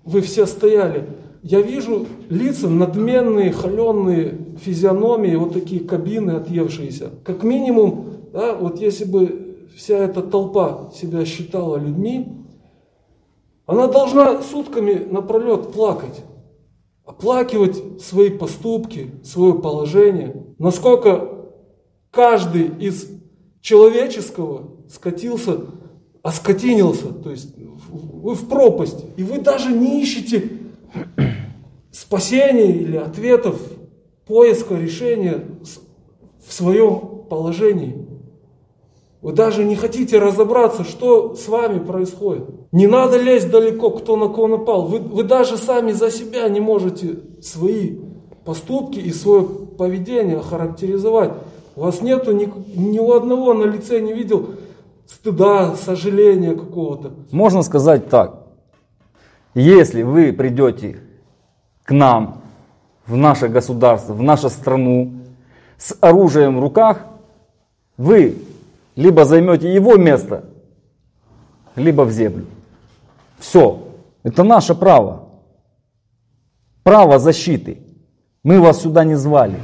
вы все стояли, я вижу лица надменные, холеные физиономии, вот такие кабины отъевшиеся. Как минимум, да, вот если бы вся эта толпа себя считала людьми, она должна сутками напролет плакать. Оплакивать свои поступки, свое положение. Насколько каждый из человеческого оскотинился, то есть вы в пропасть. И вы даже не ищете спасения или ответов, поиска решения в своем положении. Вы даже не хотите разобраться, что с вами происходит. Не надо лезть далеко, кто на кого напал. Вы даже сами за себя не можете свои поступки и свое поведение охарактеризовать. У вас нету ни у одного на лице не видел стыда, сожаления какого-то. Можно сказать так. Если вы придете к нам, в наше государство, в нашу страну, с оружием в руках, вы либо займете его место, либо в землю. Все. Это наше право. Право защиты. Мы вас сюда не звали.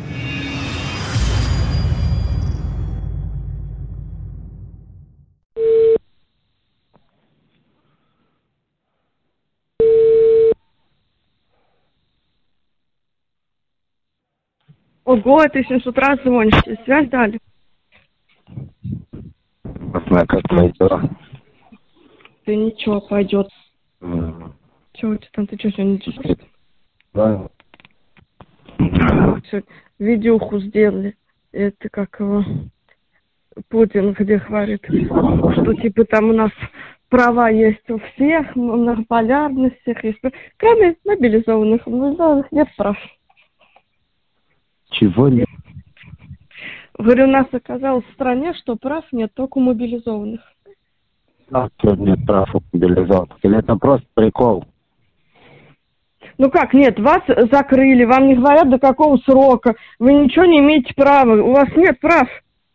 Ого, ты сейчас с утра звонишь, тебе связь дали? Как твои дела? Да ничего, пойдет. Чего у тебя там, ты что сегодня делаешь? Да. Видюху сделали. Это как его Путин, где говорит, что типа там у нас права есть у всех, многополярность всех есть. Кроме мобилизованных. Мобилизованных нет прав. Чего нет? Говорю, у нас оказалось в стране, что прав нет, только у мобилизованных. А тут нет прав у мобилизованных. Или это просто прикол? Ну как, нет, вас закрыли, вам не говорят до какого срока, вы ничего не имеете права, у вас нет прав.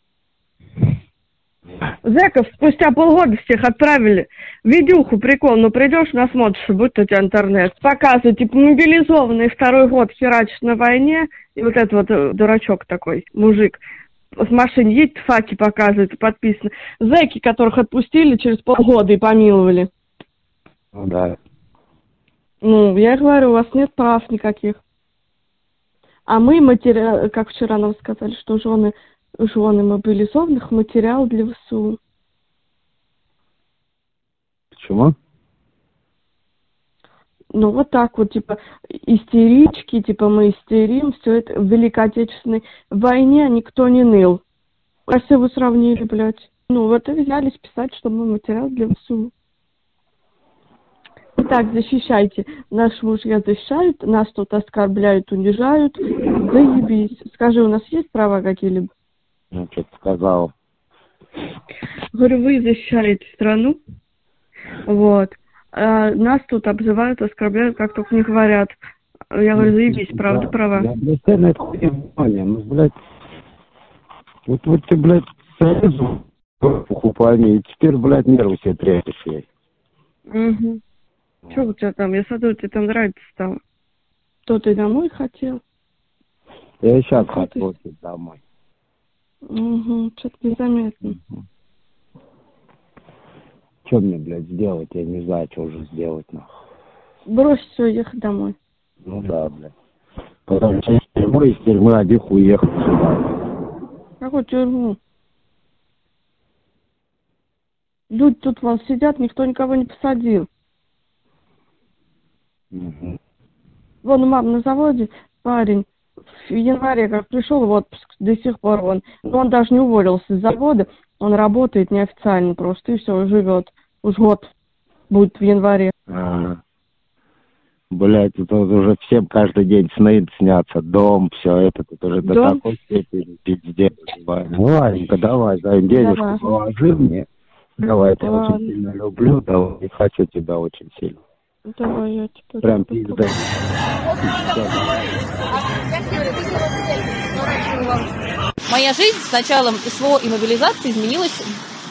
Зэков спустя полгода всех отправили. Видюху, прикол, ну придешь, насмотришься, будет у тебя интернет. Показывают, типа, мобилизованный второй год херачит на войне, и вот этот вот дурачок такой, мужик, в машине едет, факи показывает, подписано. Зэки, которых отпустили через полгода и помиловали. Ну да. Ну, я говорю, у вас нет прав никаких. А мы как вчера нам сказали, что жены мобилизованных материал для ВСУ. Почему? Ну, вот так вот, типа, истерички, типа, мы истерим, все это. В Великой Отечественной войне никто не ныл. А все вы сравнили, блядь. Ну, вот и взялись писать, что мы материал для ВСУ. Так, защищайте. Наши мужья защищают, нас тут оскорбляют, унижают. Заебись. Скажи, у нас есть права какие-либо? Ну, что ты сказал. Говорю, вы защищаете страну. Вот. А нас тут обзывают, оскорбляют, как только не говорят. Я говорю, заебись, правда, права. Я на это хуйня внимание. Ну, блядь, вот ты, блядь, сразу покупание, и теперь, блядь, нервы себе трясешь ей. Угу. Что у тебя там? Я смотрю, тебе там нравится стало. То ты домой хотел? Я сейчас хотел домой. Угу, что-то незаметно. Что мне, блядь, сделать? Я не знаю, что уже сделать, нахуй. Брось все, ехать домой. Ну да, блядь. Потом из тюрьмы обих уехал сюда. Какую тюрьму? Люди тут вон сидят, никто никого не посадил. Угу. Вон у мамы на заводе парень в январе как пришел в отпуск, до сих пор он даже не уволился с завода, он работает неофициально просто и все, живет. Уж год будет в январе. Блять, это уже всем каждый день сны снятся, дом, все это, тут уже до такой степени пиздец. Ну ладненько, давай, дай денежку, положи мне. Давай, я тебя очень сильно люблю, давай, и хочу тебя очень сильно. Давай, я тебя прям пизда. Моя жизнь с началом СВО и мобилизации изменилась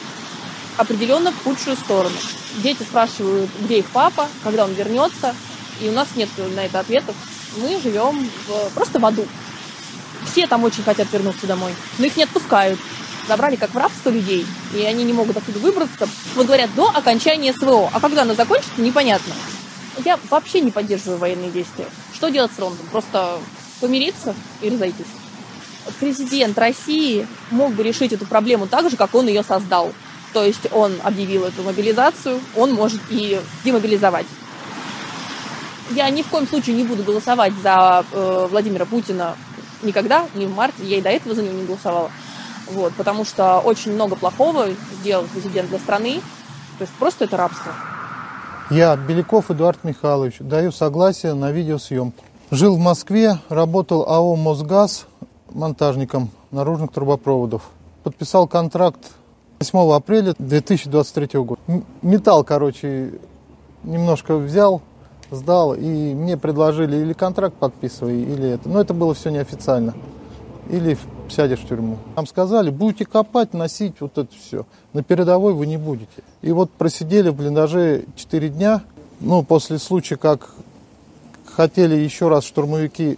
определенно в худшую сторону. Дети спрашивают, где их папа, когда он вернется. и у нас нет на это ответов. Мы живем просто в аду. Все там очень хотят вернуться домой, но их не отпускают. Забрали как в рабство людей, и они не могут оттуда выбраться. Вот говорят, до окончания СВО. А когда оно закончится, непонятно. Я вообще не поддерживаю военные действия. Что делать с фронтом? Просто помириться и разойтись. Президент России мог бы решить эту проблему так же, как он ее создал. То есть он объявил эту мобилизацию, он может и демобилизовать. Я ни в коем случае не буду голосовать за Владимира Путина никогда, ни в марте, я и до этого за него не голосовала. Вот, потому что очень много плохого сделал президент для страны. То есть просто это рабство. Я, Беляков Эдуард Михайлович, даю согласие на видеосъемку. Жил в Москве, работал АО «Мосгаз» монтажником наружных трубопроводов. Подписал контракт 8 апреля 2023 года. Металл, немножко взял, сдал, и мне предложили или контракт подписывай, или это. Но это было все неофициально. Или сядешь в тюрьму. Нам сказали, будете копать, носить вот это все. На передовой вы не будете. И вот просидели в блиндаже 4 дня. После случая, как хотели еще раз штурмовики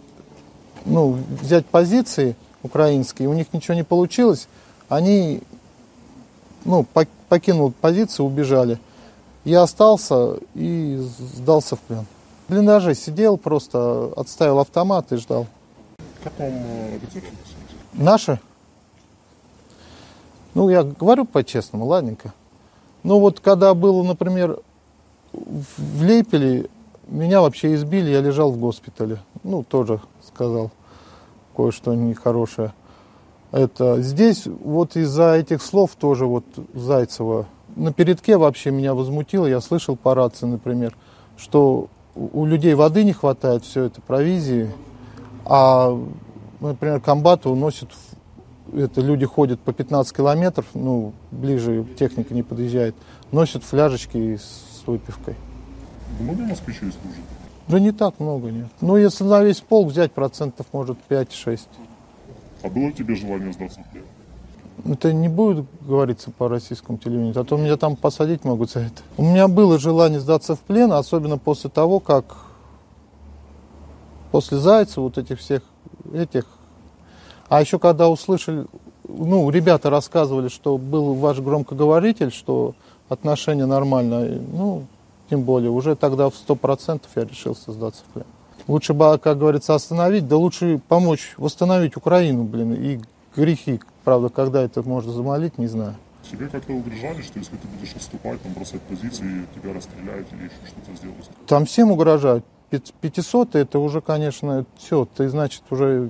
взять позиции украинские, у них ничего не получилось. Они покинули позиции, убежали. Я остался и сдался в плен. В блиндаже сидел, просто отставил автомат и ждал. Как вам офицеры? Наши? Я говорю по-честному, ладненько. Когда было, например, в Лейпеле, меня вообще избили, я лежал в госпитале. Тоже сказал кое-что нехорошее. Здесь из-за этих слов тоже Зайцева на передке вообще меня возмутило. Я слышал по рации, например, что у людей воды не хватает, все это провизии. А, например, комбаты уносят, люди ходят по 15 километров, ближе техника не подъезжает, носят фляжечки с выпивкой. Много москвичей служит? Да не так много, нет. Если на весь полк взять, процентов, может, 5-6. А было у тебя желание сдаться в плен? Это не будет говориться по российскому телевидению, а то меня там посадить могут за это. У меня было желание сдаться в плен, особенно после того, как после Зайцева, этих. А еще когда услышали, ребята рассказывали, что был ваш громкоговоритель, что отношения нормальные, тем более, уже тогда в 100% я решился сдаться в плен. Лучше бы, как говорится, остановить, да лучше помочь восстановить Украину, и грехи. Правда, когда это можно замолить, не знаю. Тебе как-то угрожали, что если ты будешь отступать, бросать позиции, тебя расстреляют или еще что-то сделают? Там всем угрожают. 500 это уже, конечно, все, ты, значит, уже,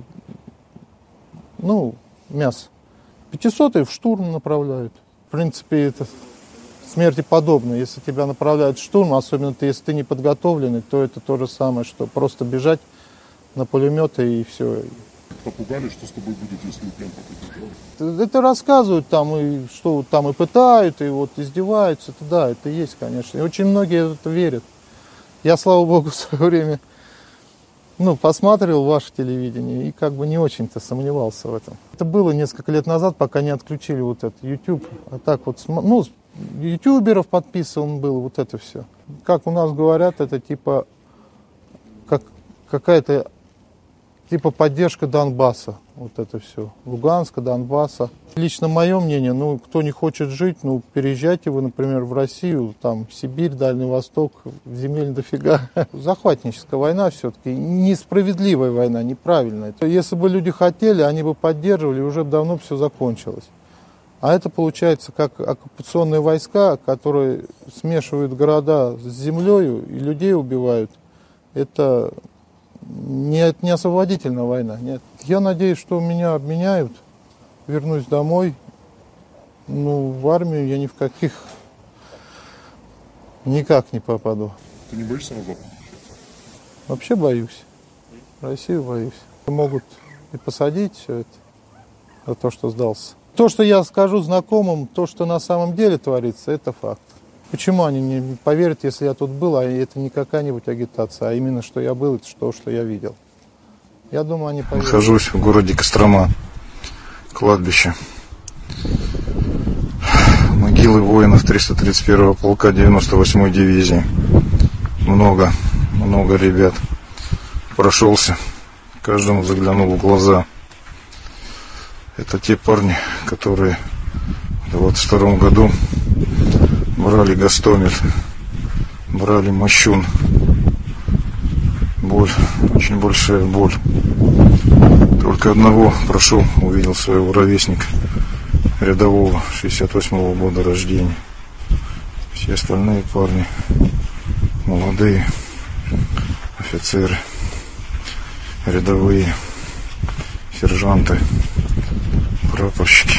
мясо. 500 в штурм направляют. В принципе, это смерти подобно. Если тебя направляют в штурм, особенно если ты не подготовленный, то это то же самое, что просто бежать на пулеметы и все. Попугали, что с тобой будет, если плен попадешь? Это рассказывают там, и что там и пытают, и издеваются. Это есть, конечно. И очень многие в это верят. Я, слава богу, в свое время посматривал ваше телевидение и не очень-то сомневался в этом. Это было несколько лет назад, пока не отключили этот YouTube. А так ютуберов подписан был, это все. Как у нас говорят, это какая-то поддержка Донбасса. Это все. Луганска, Донбасса. Лично мое мнение, кто не хочет жить, переезжайте вы, например, в Россию, там, Сибирь, Дальний Восток, земель дофига. Захватническая война все-таки, несправедливая война, неправильная. Если бы люди хотели, они бы поддерживали, уже давно все закончилось. А это получается как оккупационные войска, которые смешивают города с землей и людей убивают. Это не освободительная война, нет. Я надеюсь, что меня обменяют, вернусь домой. В армию я никак не попаду. Ты не боишься назад? Вообще боюсь. Россию боюсь. Могут и посадить все это за то, что сдался. То, что я скажу знакомым, то, что на самом деле творится, это факт. Почему они не поверят, если я тут был, а это не какая-нибудь агитация, а именно, что я был, это то, что я видел. Я думаю, они поверят. Нахожусь в городе Кострома, кладбище. Могилы воинов 331-го полка 98-й дивизии. Много много ребят. Прошелся, каждому заглянул в глаза. Это те парни, которые в 22 году брали Гастомель, брали Мощун. Боль, очень большая боль. Только одного прошел, увидел своего ровесника, рядового, 68-го года рождения. Все остальные парни молодые, офицеры, рядовые, сержанты, прапорщики.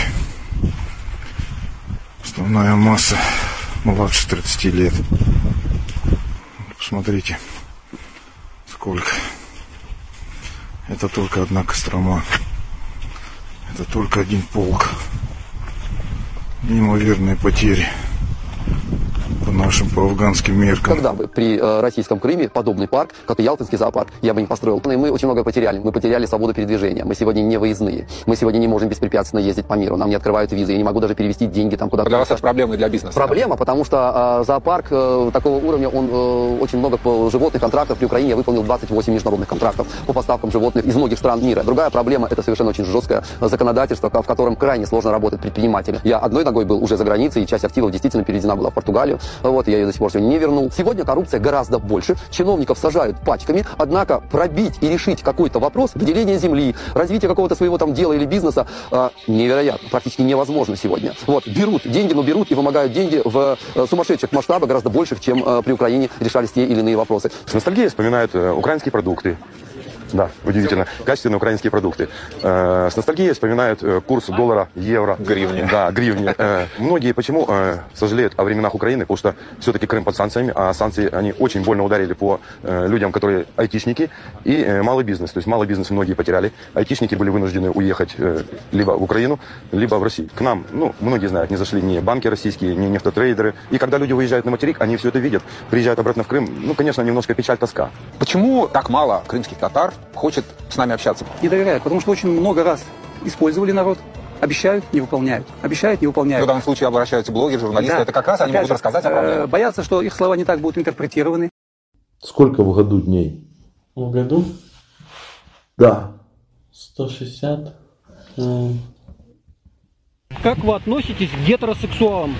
Основная масса младше 30 лет. Посмотрите, сколько. Это только одна Кострома. Это только один полк. Неимоверные потери. По нашим, по афганским меркам. Когда бы при российском Крыме подобный парк, как и Ялтинский зоопарк, я бы не построил. И мы очень много потеряли. Мы потеряли свободу передвижения. Мы сегодня не выездные. Мы сегодня не можем беспрепятственно ездить по миру. Нам не открывают визы. Я не могу даже перевести деньги там куда-то. Для вас это проблема и для бизнеса? Проблема, потому что зоопарк такого уровня, он очень много животных контрактов. При Украине я выполнил 28 международных контрактов по поставкам животных из многих стран мира. Другая проблема, это совершенно очень жесткое законодательство, в котором крайне сложно работать предпринимателю. Я одной ногой был уже за границей, и часть активов действительно переведена была в Португалию. Вот, я ее до сих пор сегодня не вернул. Сегодня коррупция гораздо больше. Чиновников сажают пачками. Однако пробить и решить какой-то вопрос, выделение земли, развитие какого-то своего там дела или бизнеса, невероятно, практически невозможно сегодня. Вот, берут деньги, но берут и вымогают деньги в сумасшедших масштабах, гораздо больших, чем при Украине решались те или иные вопросы. С ностальгией вспоминают украинские продукты. Да, удивительно. Качественные украинские продукты. С ностальгией вспоминают курс доллара, евро. Гривни. Да, гривни. Многие почему сожалеют о временах Украины, потому что все-таки Крым под санкциями, а санкции, они очень больно ударили по людям, которые айтишники и малый бизнес. То есть малый бизнес многие потеряли. Айтишники были вынуждены уехать либо в Украину, либо в Россию. К нам, многие знают, не зашли ни банки российские, ни нефтотрейдеры. И когда люди выезжают на материк, они все это видят. Приезжают обратно в Крым, конечно, немножко печаль, тоска. Почему так мало крымских татар хочет с нами общаться? Не доверяют, потому что очень много раз использовали народ. Обещают, не выполняют. Обещают, не выполняют. В данном случае обращаются блогеры, журналисты. Да. Это как раз они могут рассказать о проблеме. Боятся, что их слова не так будут интерпретированы. Сколько в году дней? В году? Да. 160. Как вы относитесь к гетеросексуалам?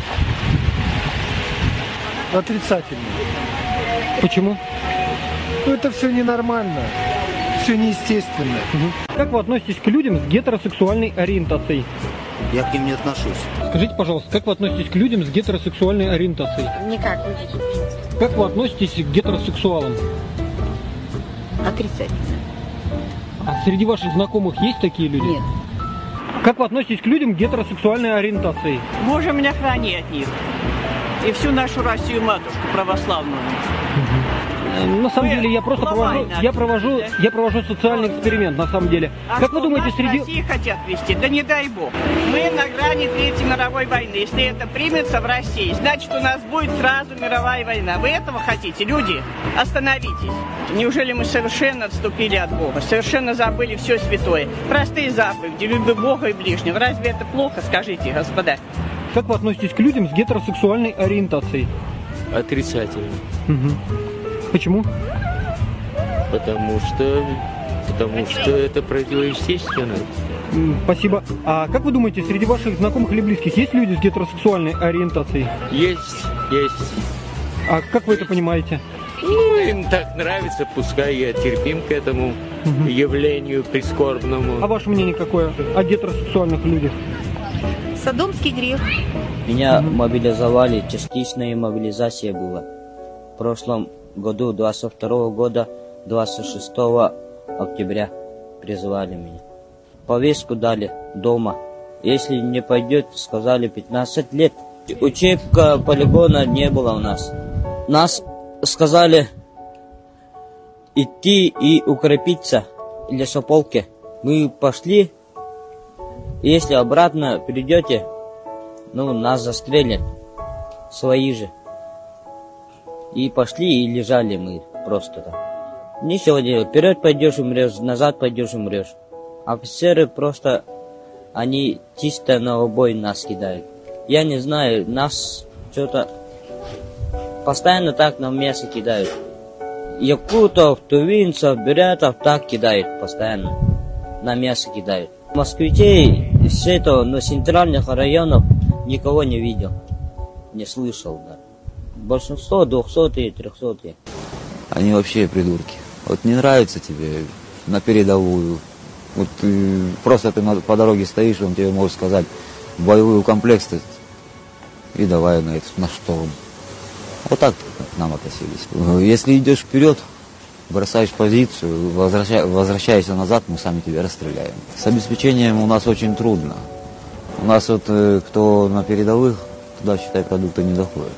Отрицательно. Почему? Это все ненормально, все неестественно. Как вы относитесь к людям с гетеросексуальной ориентацией? Я к ним не отношусь. Скажите, пожалуйста, как вы относитесь к людям с гетеросексуальной ориентацией? Никак. Как вы относитесь к гетеросексуалам? Отрицательно. А среди ваших знакомых есть такие люди? Нет. Как вы относитесь к людям с гетеросексуальной ориентацией? Боже меня храни от них. И всю нашу Россию матушку православную. На самом деле я просто провожу социальный эксперимент, на самом деле. А как вы думаете, среди... России хотят вести? Да не дай бог. Мы на грани Третьей мировой войны. Если это примется в России, значит у нас будет сразу мировая война. Вы этого хотите, люди? Остановитесь. Неужели мы совершенно отступили от Бога? Совершенно забыли все святое? Простые заповеди, люби Бога и ближнего. Разве это плохо, скажите, господа? Как вы относитесь к людям с гетеросексуальной ориентацией? Отрицательно. Почему? Потому что это противоестественно. Спасибо. А как вы думаете, среди ваших знакомых или близких есть люди с гетеросексуальной ориентацией? Есть. А как вы это понимаете? Им так нравится, пускай я терпим к этому явлению прискорбному. А ваше мнение какое о гетеросексуальных людях? Содомский грех. Меня мобилизовали, частичная мобилизация была. В прошлом году, 22 года, 26 октября призывали меня. Повестку дали дома. Если не пойдет, сказали 15 лет. Учебка полигона не было у нас. Нас сказали идти и укрепиться в лесополке. Мы пошли. Если обратно придете, нас застрелят. Свои же. И пошли, и лежали мы просто там. Ничего делать. Вперед пойдешь, умрешь, назад пойдешь, умрешь. Офицеры просто, они чисто на убой нас кидают. Я не знаю, нас что-то постоянно так на мясо кидают. якутов, тувинцев, бурятов так кидают постоянно. На мясо кидают. Москвичей с этого, но центральных районов никого не видел. Не слышал, да. Большинство 200-е, 300-е. Они вообще придурки. Вот не нравится тебе на передовую. Вот просто ты по дороге стоишь, он тебе может сказать боевой комплекс и давай на штурм. Вот так к нам относились. Если идешь вперед, бросаешь позицию, возвращаешься назад, мы сами тебя расстреляем. С обеспечением у нас очень трудно. У нас вот кто на передовых, туда, считай, продукты не доходят.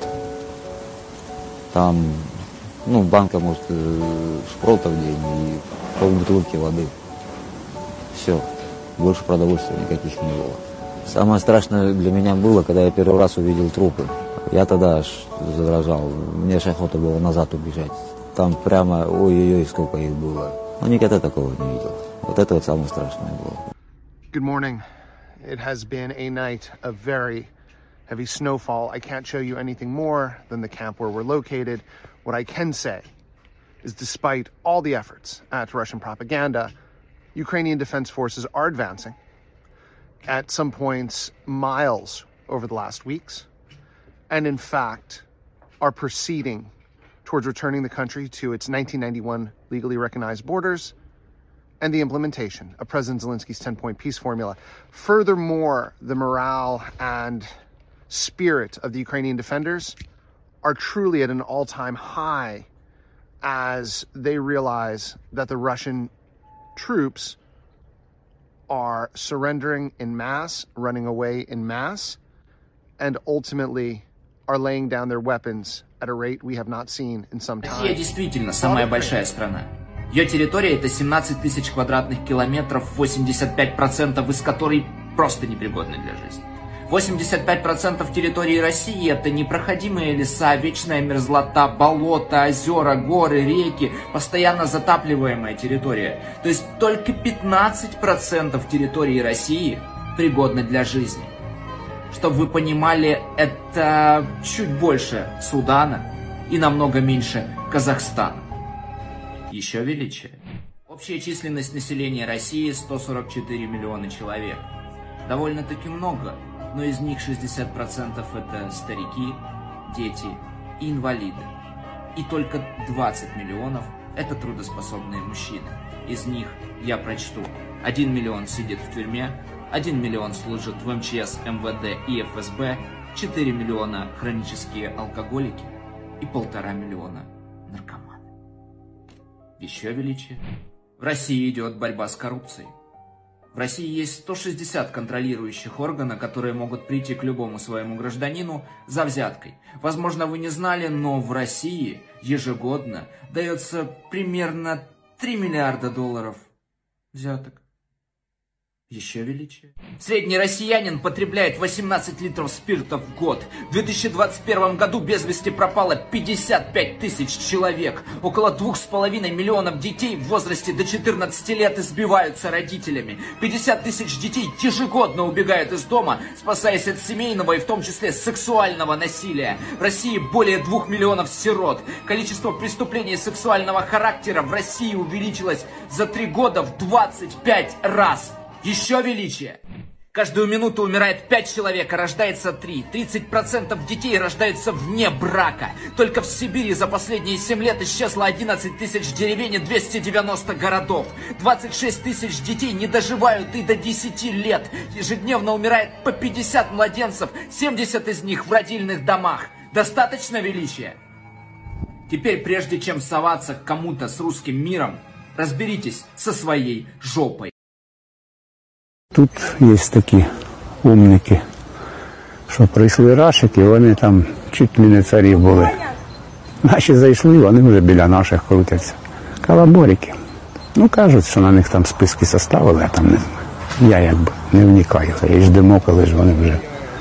Там, банка, может, шпротов в день и полбутылки воды. Все, больше продовольствия никаких не было. Самое страшное для меня было, когда я первый раз увидел трупы. Я тогда аж задрожал, мне аж охота было назад убежать. Там прямо, ой-ой-ой, сколько их было. Но никогда такого не видел. Вот это вот самое страшное было. Good morning. It has been a night of very heavy snowfall. I can't show you anything more than the camp where we're located. What I can say is despite all the efforts at Russian propaganda, Ukrainian defense forces are advancing at some points miles over the last weeks, and in fact are proceeding towards returning the country to its 1991 legally recognized borders and the implementation of President Zelensky's 10-point peace formula. Furthermore, the morale and spirit of the Ukrainian defenders are truly at an all-time high as they realize that the Russian troops are surrendering in mass, running away in mass, and ultimately are laying down their weapons at a rate we have not seen in some time. Россия действительно самая большая страна. Ее территория это 17 тысяч квадратных километров, 85% из которой просто непригодны для жизни. 85% территории России это непроходимые леса, вечная мерзлота, болота, озера, горы, реки, постоянно затапливаемая территория. То есть только 15% территории России пригодны для жизни. Чтобы вы понимали, это чуть больше Судана и намного меньше Казахстана. Еще величие. Общая численность населения России 144 миллиона человек. Довольно-таки много, но из них 60% это старики, дети и инвалиды. И только 20 миллионов это трудоспособные мужчины. Из них, я прочту, 1 миллион сидит в тюрьме, 1 миллион служит в МЧС, МВД и ФСБ, 4 миллиона хронические алкоголики и 1,5 миллиона наркоманы. Еще величие. В России идет борьба с коррупцией. В России есть 160 контролирующих органов, которые могут прийти к любому своему гражданину за взяткой. Возможно, вы не знали, но в России ежегодно дается примерно 3 миллиарда долларов взяток. Еще величие. Средний россиянин потребляет 18 литров спирта в год. В 2021 году без вести пропало 55 тысяч человек. Около 2,5 миллионов детей в возрасте до 14 лет избиваются родителями. 50 тысяч детей ежегодно убегают из дома, спасаясь от семейного и в том числе сексуального насилия. В России более 2 миллионов сирот. Количество преступлений сексуального характера в России увеличилось за 3 года в 25 раз. Еще величие. Каждую минуту умирает 5 человек, а рождается 3. 30% детей рождаются вне брака. Только в Сибири за последние 7 лет исчезло 11 тысяч деревень и 290 городов. 26 тысяч детей не доживают и до 10 лет. Ежедневно умирает по 50 младенцев, 70 из них в родильных домах. Достаточно величия? Теперь, прежде чем соваться к кому-то с русским миром, разберитесь со своей жопой. Тут є такі умники, що прийшли рашики, вони там чуть ли не царі були. Наші зайшли, вони вже біля наших крутяться. Калаборики. Ну, кажуть, що на них там списки составили, а там не знаю. Я якби не вникаю. Я ждемо, коли ж вони вже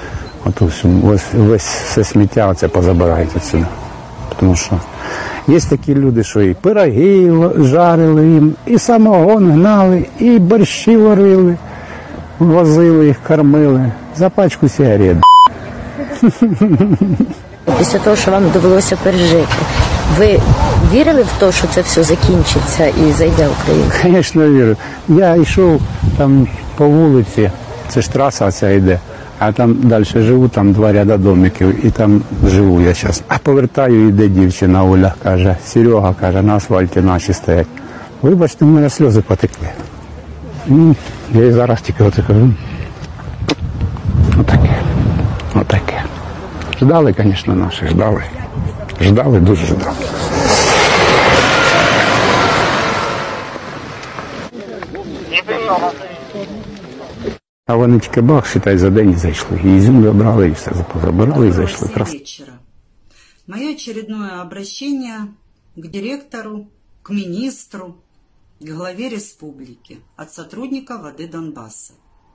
весь все сміття оце позабирають отсюди. Тому що є такі люди, що і пироги жарили їм, і самогон гнали, і борщі варили. Возили їх, кормили за пачку сигарет. Після того, що вам довелося пережити, ви вірили в те, що це все закінчиться і зайде Україна? Звісно, вірю. Я йшов там по вулиці, це ж траса ця йде, а там далі живу, там 2 ряда домиків, і там живу я зараз. А повертаю, йде дівчина Оля, каже, Серега, каже, на асфальті наші стоять. Вибачте, в мене сльози потекли. Я і зараз тільки оце кажу. Отаке. Ждали, звісно, наші, ждали. Ждали, дуже ждали. А вони тільки бах, считай, за день і зайшли. І землю обрали, і все забрали, і зайшли. Мое очередное обращение к директору, к министру, к главе республики от сотрудника «Воды Донбасса».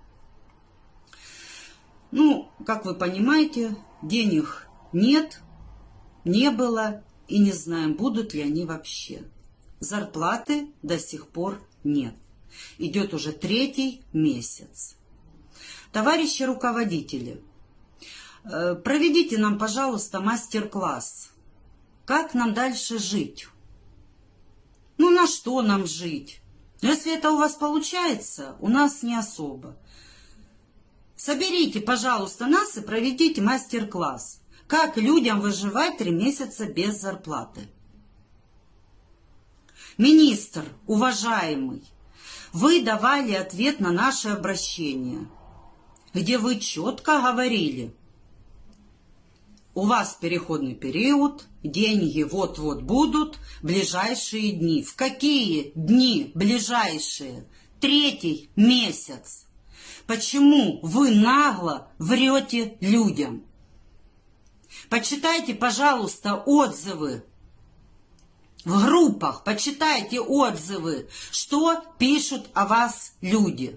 Ну, как вы понимаете, денег нет, не было и не знаем, будут ли они вообще. Зарплаты до сих пор нет. Идет уже 3-й месяц. Товарищи руководители, проведите нам, пожалуйста, мастер-класс. Как нам дальше жить? Ну, на что нам жить? Но если это у вас получается, у нас не особо. Соберите, пожалуйста, нас и проведите мастер-класс. Как людям выживать 3 месяца без зарплаты? Министр, уважаемый, вы давали ответ на наше обращение, где вы четко говорили, у вас переходный период, деньги вот-вот будут, ближайшие дни. В какие дни ближайшие? 3-й месяц. Почему вы нагло врете людям? Почитайте, пожалуйста, отзывы в группах, почитайте отзывы, что пишут о вас люди.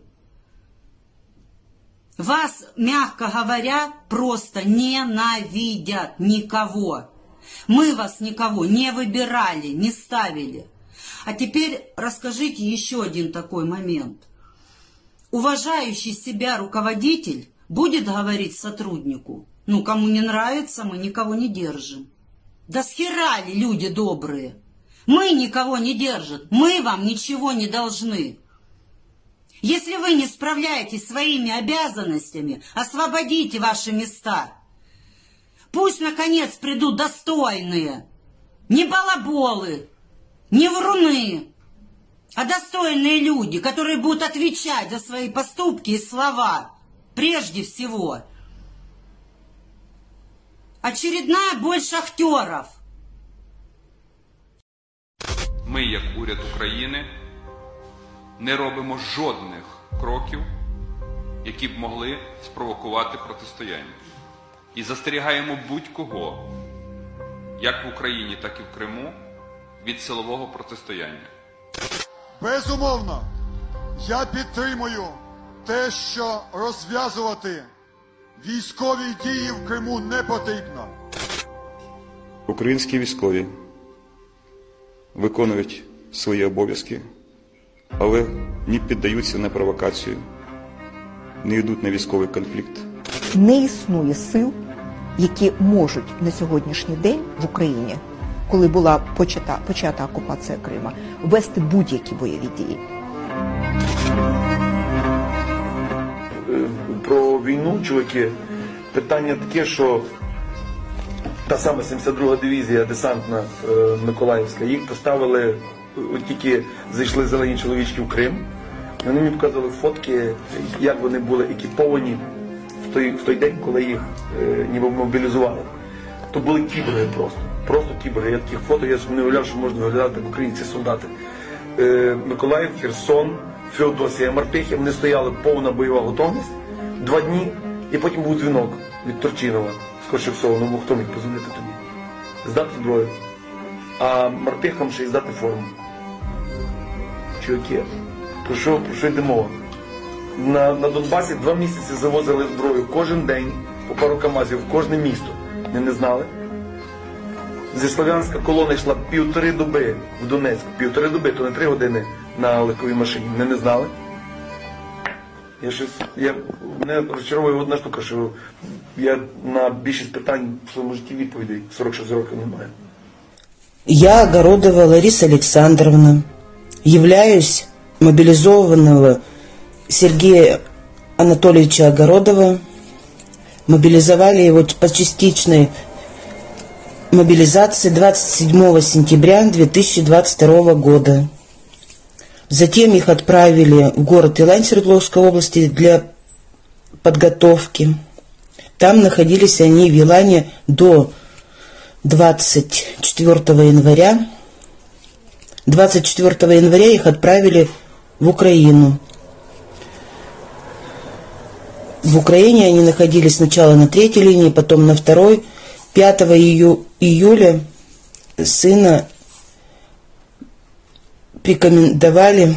Вас, мягко говоря, просто ненавидят никого. Мы вас никого не выбирали, не ставили. А теперь расскажите еще один такой момент. Уважающий себя руководитель будет говорить сотруднику, ну, кому не нравится, мы никого не держим. Да схера ли, люди добрые? Мы никого не держим, мы вам ничего не должны. Если вы не справляетесь своими обязанностями, освободите ваши места. Пусть, наконец, придут достойные, не балаболы, не вруны, а достойные люди, которые будут отвечать за свои поступки и слова, прежде всего. Очередная боль шахтеров. Ми, як уряд України, не робимо жодних кроків, які б могли спровокувати протистояння. І застерігаємо будь-кого, як в Україні, так і в Криму, від силового протистояння. Безумовно, я підтримую те, що розв'язувати військові дії в Криму не потрібно. Українські військові виконують свої обов'язки, але не піддаються на провокацію, не йдуть на військовий конфлікт. Не існує сил, які можуть на сьогоднішній день в Україні, коли була почата окупація Крима, вести будь-які бойові дії. Про війну, чуваки, питання таке, що та сама 72-га дивізія десантна Миколаївська, їх поставили, от тільки зайшли зелені чоловічки в Крим, вони мені показували фотки, як вони були екіповані в той день, коли їх ніби мобілізували. То були кіборги просто кіборги. Я таких фото, я собі не уявляв, що можна виглядати як українці солдати. Миколаїв, Херсон, Феодосія, Мартихи, вони стояли повна бойова готовність 2 дні, і потім був дзвінок від Турчинова, скоріше всього, ну хто міг позвонити тоді. Здати зброю. А Мартихам ще й здати форму. Чуваки, про що йде мова? На Донбасі 2 місяці завозили зброю кожен день, по пару КАМАЗів в кожне місто. Не знали. Зі Слов'янська колона йшла 1,5 доби в Донецьк. 1,5 доби, то не 3 години на легковій машині. Не знали. Мене розчаровує одна штука, що я на більшість питань в своєму житті відповідей 46 років не маю. Я, Огородова Лариса Александровна, являюсь мобилизованного Сергея Анатольевича Огородова. Мобилизовали его по частичной мобилизации 27 сентября 2022 года. Затем их отправили в город Илань Свердловской области для подготовки. Там находились они в Илане до 24 января. 24 января их отправили в Украину. В Украине они находились сначала на 3-й линии, потом на 2-й. 5 июля сына рекомендовали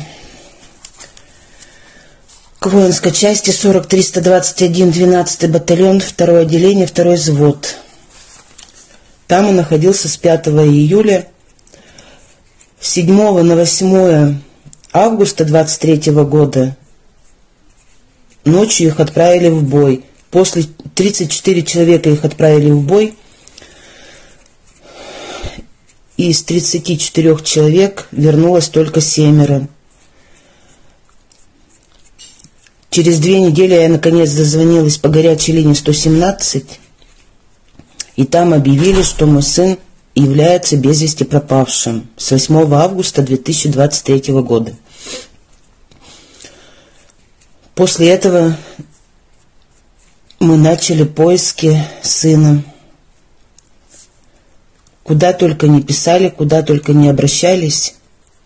к воинской части 40-321, 12-й батальон, 2-е отделение, 2-й взвод. Там он находился с 5 июля. С 7 на 8 августа 23 года ночью их отправили в бой. После 34 человека их отправили в бой. И из 34 человек вернулось только 7. Через 2 недели я наконец дозвонилась по горячей линии 117. И там объявили, что мой сын является без вести пропавшим с 8 августа 2023 года. После этого мы начали поиски сына. Куда только не писали, куда только не обращались.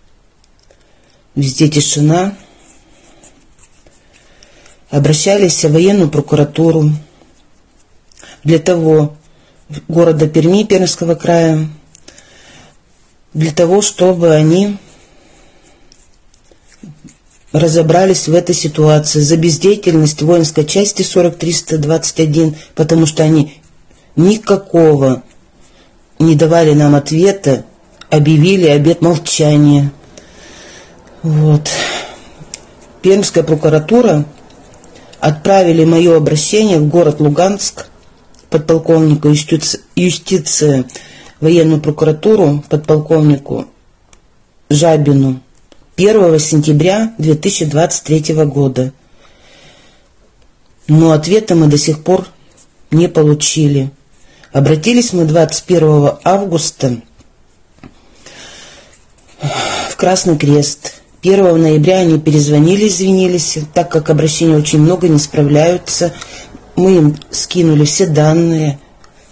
Везде тишина. Обращались в военную прокуратуру для того, города Перми, Пермского края, для того, чтобы они разобрались в этой ситуации за бездеятельность воинской части 40-321, потому что они никакого не давали нам ответа, объявили обет молчания. Вот. Пермская прокуратура отправили мое обращение в город Луганск, подполковнику юстиции, военную прокуратуру, подполковнику Жабину 1 сентября 2023 года. Но ответа мы до сих пор не получили. Обратились мы 21 августа в Красный Крест. 1 ноября они перезвонили, извинились, так как обращений очень много, не справляются. Мы им скинули все данные.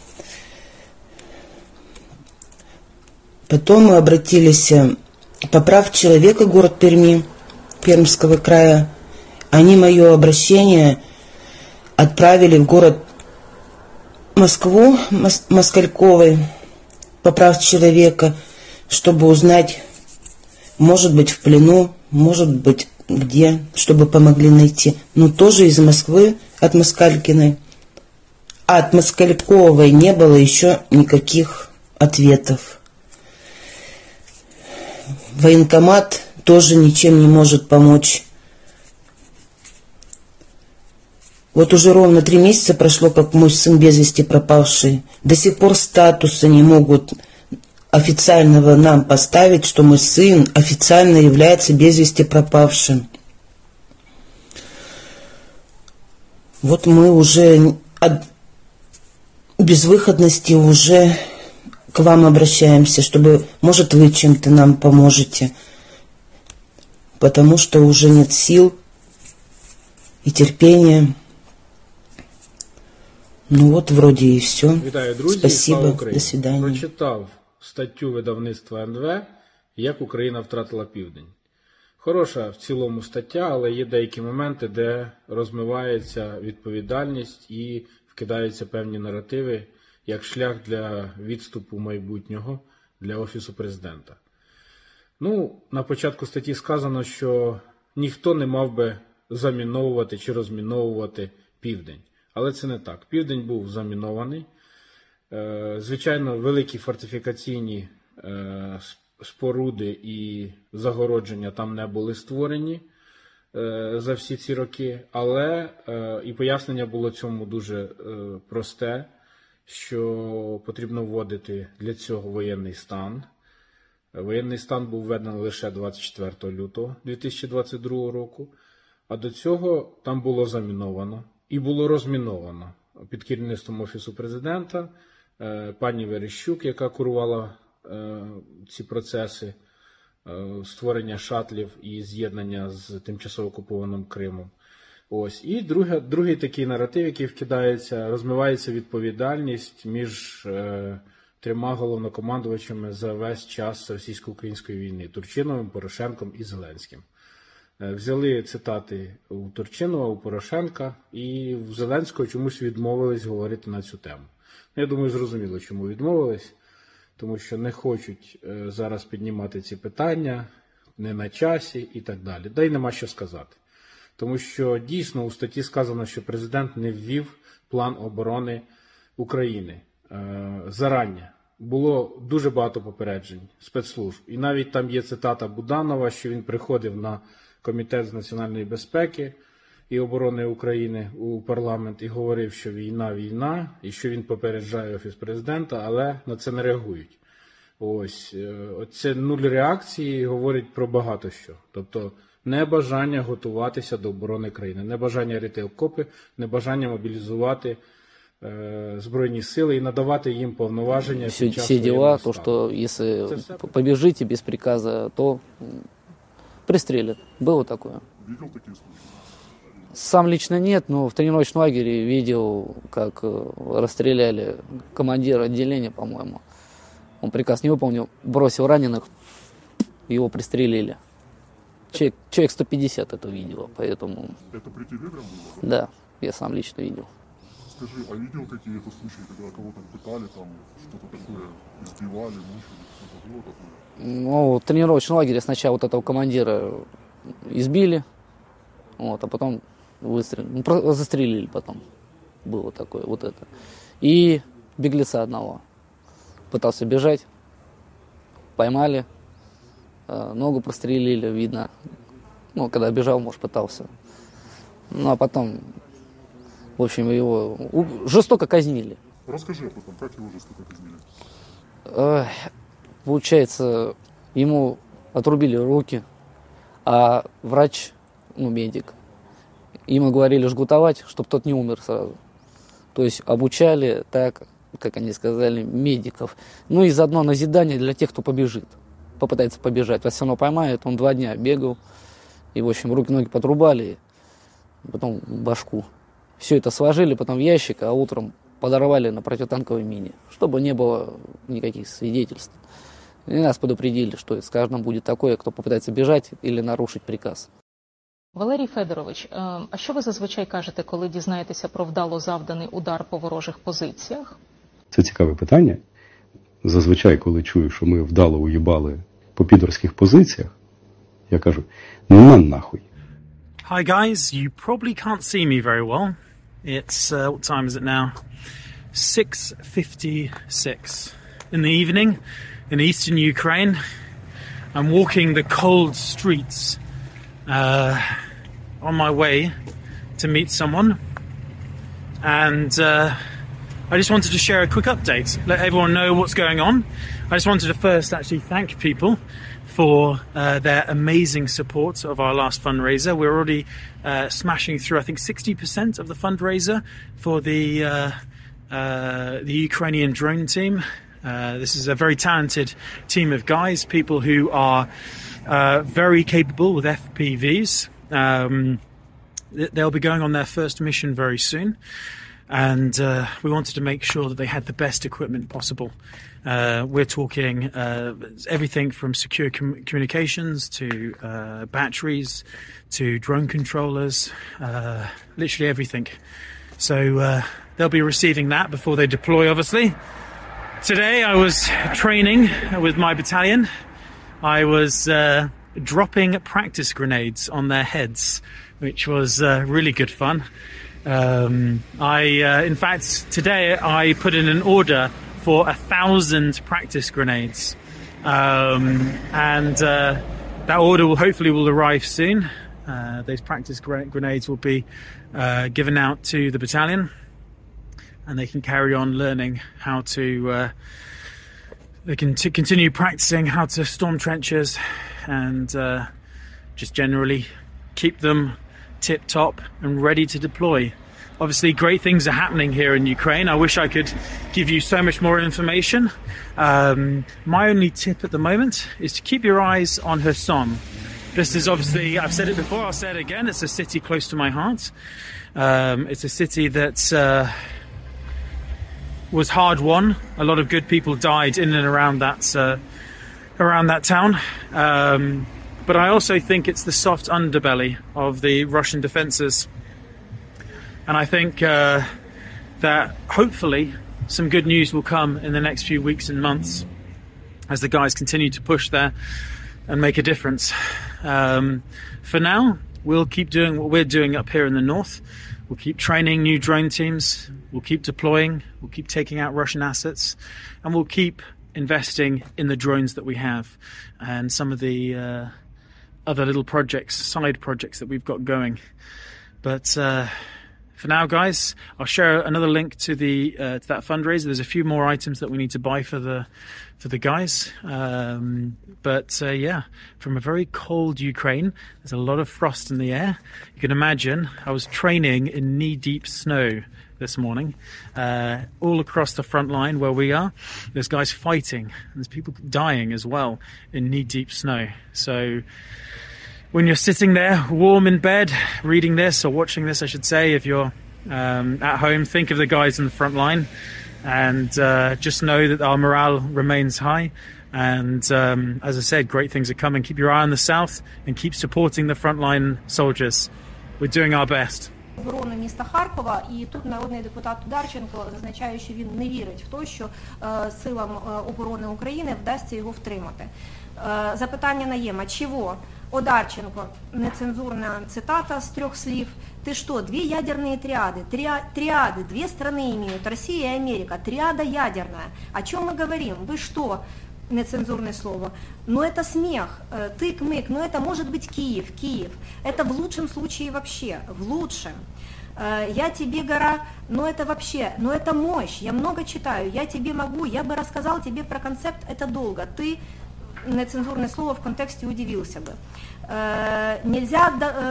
Потом мы обратились по прав человека, город Перми, Пермского края. Они мое обращение отправили в город Москву, Москальковой, по прав человека, чтобы узнать, может быть, в плену, может быть, где, чтобы помогли найти. Но тоже из Москвы, от Москалькиной. А от Москальковой не было еще никаких ответов. Военкомат тоже ничем не может помочь. Вот уже ровно 3 месяца прошло, как мой сын без вести пропавший. До сих пор статуса не могут официального нам поставить, что мой сын официально является без вести пропавшим. Вот мы уже от безвыходности уже к вам обращаемся, чтобы, может, вы чем-то нам поможете. Потому что уже нет сил и терпения. Ну от, вроді і все. Вітаю, друзі. Спасибо. До свидання. Прочитав статтю видавництва НВ «Як Україна втратила Південь». Хороша в цілому стаття, але є деякі моменти, де розмивається відповідальність і вкидаються певні наративи, як шлях для відступу майбутнього для Офісу Президента. Ну, на початку статті сказано, що ніхто не мав би заміновувати чи розміновувати Південь. Але це не так. Південь був замінований. Звичайно, великі фортифікаційні споруди і загородження там не були створені за всі ці роки. Але і пояснення було цьому дуже просте, що потрібно вводити для цього воєнний стан. Воєнний стан був введений лише 24 лютого 2022 року, а до цього там було заміновано і було розміновано під керівництвом Офісу Президента, пані Верещук, яка курувала ці процеси створення шатлів і з'єднання з тимчасово окупованим Кримом. Ось. І другий такий наратив, який вкидається, розмивається відповідальність між трьома головнокомандувачами за весь час російсько-української війни – Турчиновим, Порошенком і Зеленським. Взяли цитати у Турчинова, у Порошенка, і в Зеленського чомусь відмовились говорити на цю тему. Я думаю, зрозуміло, чому відмовились, тому що не хочуть зараз піднімати ці питання, не на часі і так далі. Да й нема що сказати. Тому що дійсно у статті сказано, що президент не ввів план оборони України. Зарання. Було дуже багато попереджень спецслужб. І навіть там є цитата Буданова, що він приходив на Комітет з національної безпеки і оборони України у парламент і говорив, що війна, і що він попереджає Офіс Президента, але на це не реагують. Ось. Оце нуль реакції говорить про багато що. Тобто небажання готуватися до оборони країни, небажання рити окопи, небажання мобілізувати збройні сили и надавать им повноважения. Все дела, то, что если побежите без приказа, то пристрелят. Было такое. Видел такие случаи? Сам лично нет, но в тренировочном лагере видел, как расстреляли командира отделения, по-моему. Он приказ не выполнил, бросил раненых, его пристрелили. Человек 150 это видел, поэтому... Это при тебе прям было? Да, я сам лично видел. Скажи, а видел какие-то случаи, когда кого-то пытали, там что-то такое, избивали, мучили, что-то было такое? Ну, в тренировочном лагере сначала вот этого командира избили, вот, а потом выстрелили, ну, застрелили потом. Было такое, вот это. И беглеца одного. Пытался бежать, поймали, ногу прострелили, видно. Ну, когда бежал, может, пытался. Ну, а потом... В общем, его жестоко казнили. Расскажи об этом, как его жестоко казнили? Получается, ему отрубили руки, а врач, ну, медик, ему говорили жгутовать, чтобы тот не умер сразу. То есть обучали так, как они сказали, медиков. Ну и заодно назидание для тех, кто побежит, попытается побежать. Вас все равно поймают, он 2 дня бегал, и, в общем, руки-ноги подрубали, потом башку. Все это сложили потом в ящик, а утром подорвали на противотанковой мине, чтобы не было никаких свидетельств. И нас предупредили, что с каждым будет такое, кто попытается бежать или нарушить приказ. Валерій Федорович, а що ви зазвичай кажете, коли дізнаєтеся про вдало завданий удар по ворожих позиціях? Це цікаве питання. Зазвичай, коли чую, що ми вдало уїбали по підорських позиціях, я кажу, ну на нахуй. Hi guys, you probably can't see me very well. It's, what time is it now? 6:56 in the evening in eastern Ukraine. I'm walking the cold streets on my way to meet someone. And I just wanted to share a quick update, let everyone know what's going on. I just wanted to first actually thank people for their amazing support of our last fundraiser. We're already smashing through, I think, 60% of the fundraiser for the Ukrainian drone team. This is a very talented team of guys, people who are very capable with FPVs. They'll be going on their first mission very soon. And we wanted to make sure that they had the best equipment possible. We're talking everything from secure communications to batteries to drone controllers, literally everything. So they'll be receiving that before they deploy, obviously. Today I was training with my battalion. I was dropping practice grenades on their heads, which was really good fun. In fact, today I put in an order for 1,000 practice grenades, and that order will arrive soon. Those practice grenades will be given out to the battalion, and they can carry on learning how to they can continue practicing how to storm trenches and just generally keep them tip-top and ready to deploy. Obviously, great things are happening here in Ukraine. I wish I could give you so much more information. My only tip at the moment is to keep your eyes on Kherson. This is obviously, I've said it before, I'll say it again, it's a city close to my heart. It's a city that was hard won. A lot of good people died in and around that town. But I also think it's the soft underbelly of the Russian defenses. And I think that hopefully some good news will come in the next few weeks and months as the guys continue to push there and make a difference. For now, we'll keep doing what we're doing up here in the north. We'll keep training new drone teams. We'll keep deploying. We'll keep taking out Russian assets. And we'll keep investing in the drones that we have and some of the other little projects, side projects that we've got going. But for now, guys, I'll share another link to that fundraiser. There's a few more items that we need to buy for the guys. But yeah, from a very cold Ukraine, there's a lot of frost in the air. You can imagine I was training in knee-deep snow this morning, all across the front line where we are. There's guys fighting, and there's people dying as well in knee-deep snow. So when you're sitting there warm in bed reading this, or watching this I should say, if you're at home, think of the guys in the front line and just know that our morale remains high. And as I said, great things are coming. Keep your eye on the south and keep supporting the frontline soldiers. We're doing our best. Оборони міста Харкова, і тут народний депутат Одарченко зазначає, що він не вірить в те, що силам оборони України вдасться його втримати. Запитання Наєма: чего? Одарченко, нецензурная цитата с 3 слів. Ты что, 2 ядерные триады? Триады, 2 страны имеют, Россия и Америка, триада ядерная. О чем мы говорим? Вы что? Нецензурное слово. Но это смех, тык-мык, но это может быть Киев. Это в лучшем случае вообще, в лучшем. Я тебе гора, но это вообще, но это мощь, я много читаю, я тебе могу, я бы рассказал тебе про концепт, это долго. Ты, нецензурное слово, в контексте удивился бы. Нельзя,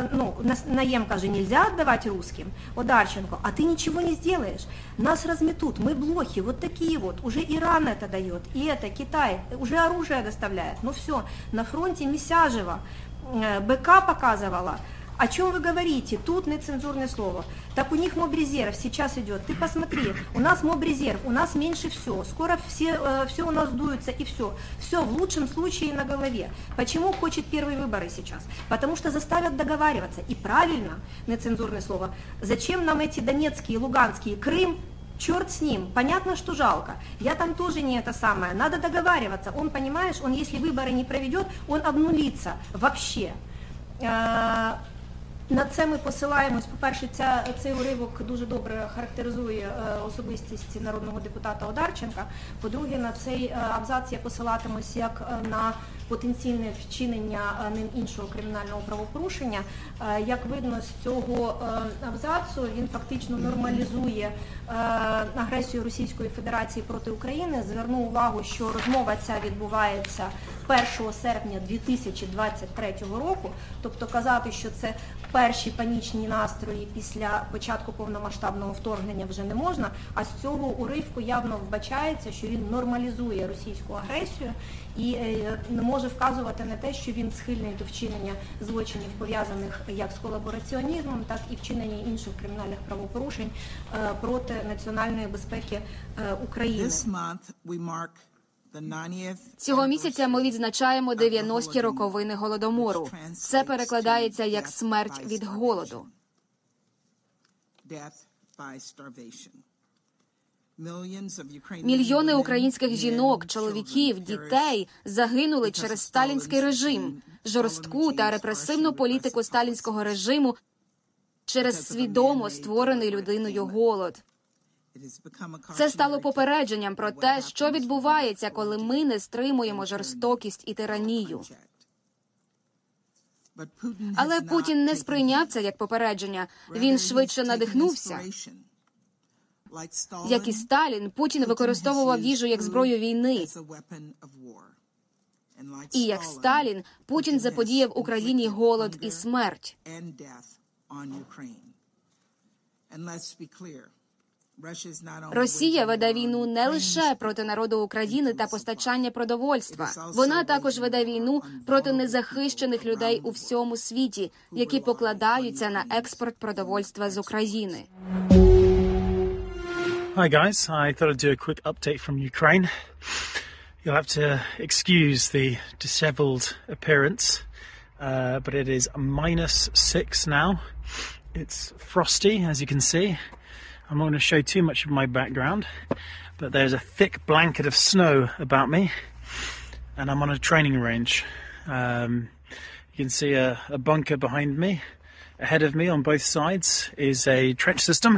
Наем каже, нельзя отдавать русским. Одарченко, а ты ничего не сделаешь. Нас разметут, мы блохи, вот такие вот. Уже Иран это дает, и это Китай, уже оружие доставляет. Ну все, на фронте Месяжева, БК показывала. О чем вы говорите? Тут нецензурное слово. Так у них мобрезерв сейчас идет. Ты посмотри, у нас мобрезерв, у нас меньше все. Скоро все у нас дуется и все. Все в лучшем случае на голове. Почему хочет первые выборы сейчас? Потому что заставят договариваться. И правильно, нецензурное слово. Зачем нам эти донецкие, луганские, Крым? Черт с ним, понятно, что жалко. Я там тоже не это самое. Надо договариваться. Он, понимаешь, он если выборы не проведет, он обнулится вообще. На це ми посилаємось. По-перше, цей уривок дуже добре характеризує особистість народного депутата Одарченка. По-друге, на цей абзац я посилатимусь як на потенційне вчинення ним іншого кримінального правопорушення. Як видно з цього абзацу, він фактично нормалізує агресію Російської Федерації проти України. Зверну увагу, що розмова ця відбувається 1 серпня 2023 року. Тобто казати, що це перші панічні настрої після початку повномасштабного вторгнення вже не можна, а з цього уривку явно вбачається, що він нормалізує російську агресію і не може вказувати на те, що він схильний до вчинення злочинів, пов'язаних як з колабораціонізмом, так і вчинення інших кримінальних правопорушень проти національної безпеки України. Цього місяця ми відзначаємо 90-ті роковини Голодомору. Це перекладається як смерть від голоду. Мільйони українських жінок, чоловіків, дітей загинули через сталінський режим, жорстку та репресивну політику сталінського режиму, через свідомо створений людиною голод. Це стало попередженням про те, що відбувається, коли ми не стримуємо жорстокість і тиранію. Але Путін не сприйняв це як попередження. Він швидше надихнувся. Як і Сталін, Путін використовував їжу як зброю війни. І як Сталін, Путін заподіяв Україні голод і смерть. Росія веде війну не лише проти народу України та постачання продовольства. Вона також веде війну проти незахищених людей у всьому світі, які покладаються на експорт продовольства з України. Hi guys, I thought I'd do a quick update from Ukraine. You'll have to excuse the disheveled appearance, but it is -6 now. It's frosty, as you can see. I'm not going to show too much of my background, but there's a thick blanket of snow about me, and I'm on a training range. You can see a bunker behind me. Ahead of me on both sides is a trench system.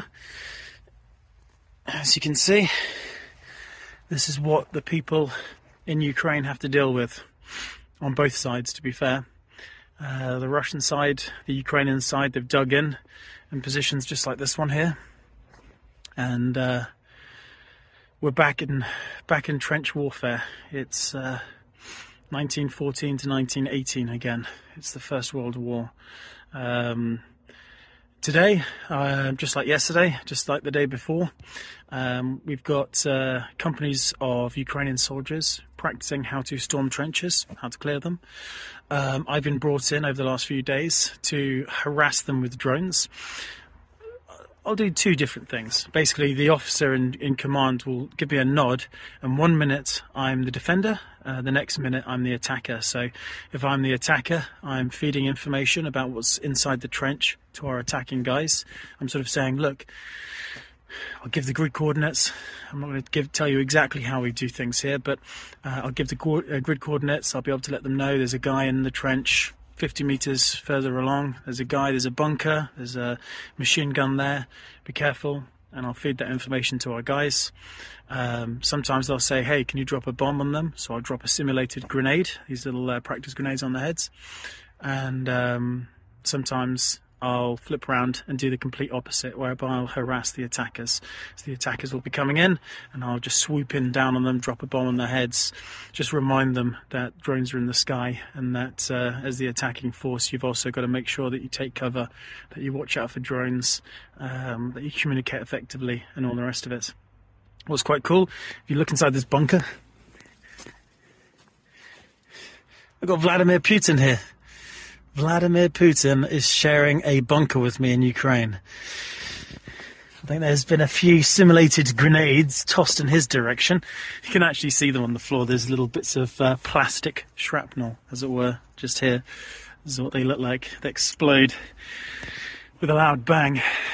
As you can see, this is what the people in Ukraine have to deal with on both sides, to be fair. The Russian side, the Ukrainian side, they've dug in positions just like this one here. And we're back in trench warfare. It's 1914 to 1918 again. It's the First World War. Today, just like yesterday, just like the day before, we've got companies of Ukrainian soldiers practicing how to storm trenches, how to clear them. I've been brought in over the last few days to harass them with drones. I'll do two different things. Basically, the officer in command will give me a nod, and 1 minute I'm the defender, the next minute I'm the attacker. So if I'm the attacker, I'm feeding information about what's inside the trench to our attacking guys. I'm sort of saying, look, I'll give the grid coordinates. I'm not going to tell you exactly how we do things here, but I'll give the grid coordinates. I'll be able to let them know there's a guy in the trench 50 meters further along. There's a guy, there's a bunker, there's a machine gun there. Be careful. And I'll feed that information to our guys. Sometimes they'll say, hey, can you drop a bomb on them? So I'll drop a simulated grenade, these little practice grenades on their heads. And sometimes I'll flip around and do the complete opposite, whereby I'll harass the attackers. So the attackers will be coming in, and I'll just swoop in down on them, drop a bomb on their heads, just remind them that drones are in the sky, and that as the attacking force, you've also got to make sure that you take cover, that you watch out for drones, that you communicate effectively, and all the rest of it. What's quite cool, if you look inside this bunker, I've got Vladimir Putin here. Vladimir Putin is sharing a bunker with me in Ukraine. I think there's been a few simulated grenades tossed in his direction. You can actually see them on the floor. There's little bits of plastic shrapnel, as it were, just here. This is what they look like. They explode with a loud bang.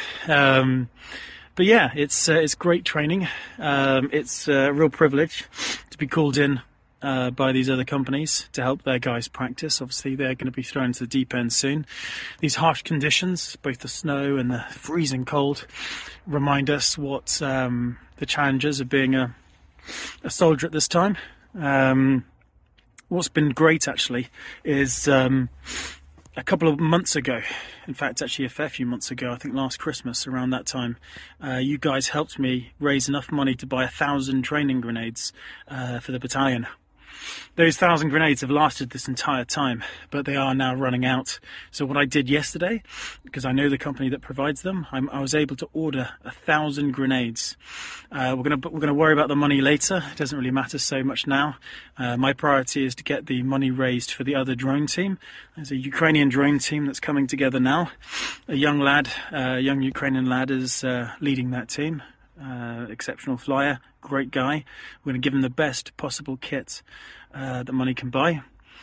But yeah, it's great training. It's a real privilege to be called in by these other companies to help their guys practice. Obviously, they're going to be thrown into the deep end soon. These harsh conditions, both the snow and the freezing cold, remind us what the challenges of being a soldier at this time. What's been great, actually, is a couple of months ago, in fact, actually a fair few months ago, I think last Christmas, around that time, you guys helped me raise enough money to buy 1,000 training grenades for the battalion. Those 1,000 grenades have lasted this entire time, but they are now running out. So what I did yesterday, because I know the company that provides them, I was able to order 1,000 grenades. We're gonna worry about the money later. It doesn't really matter so much now. My priority is to get the money raised for the other drone team. There's a Ukrainian drone team that's coming together now. A young Ukrainian lad is leading that team. Exceptional flyer, great guy. We're going to give him the best possible kit that money can buy.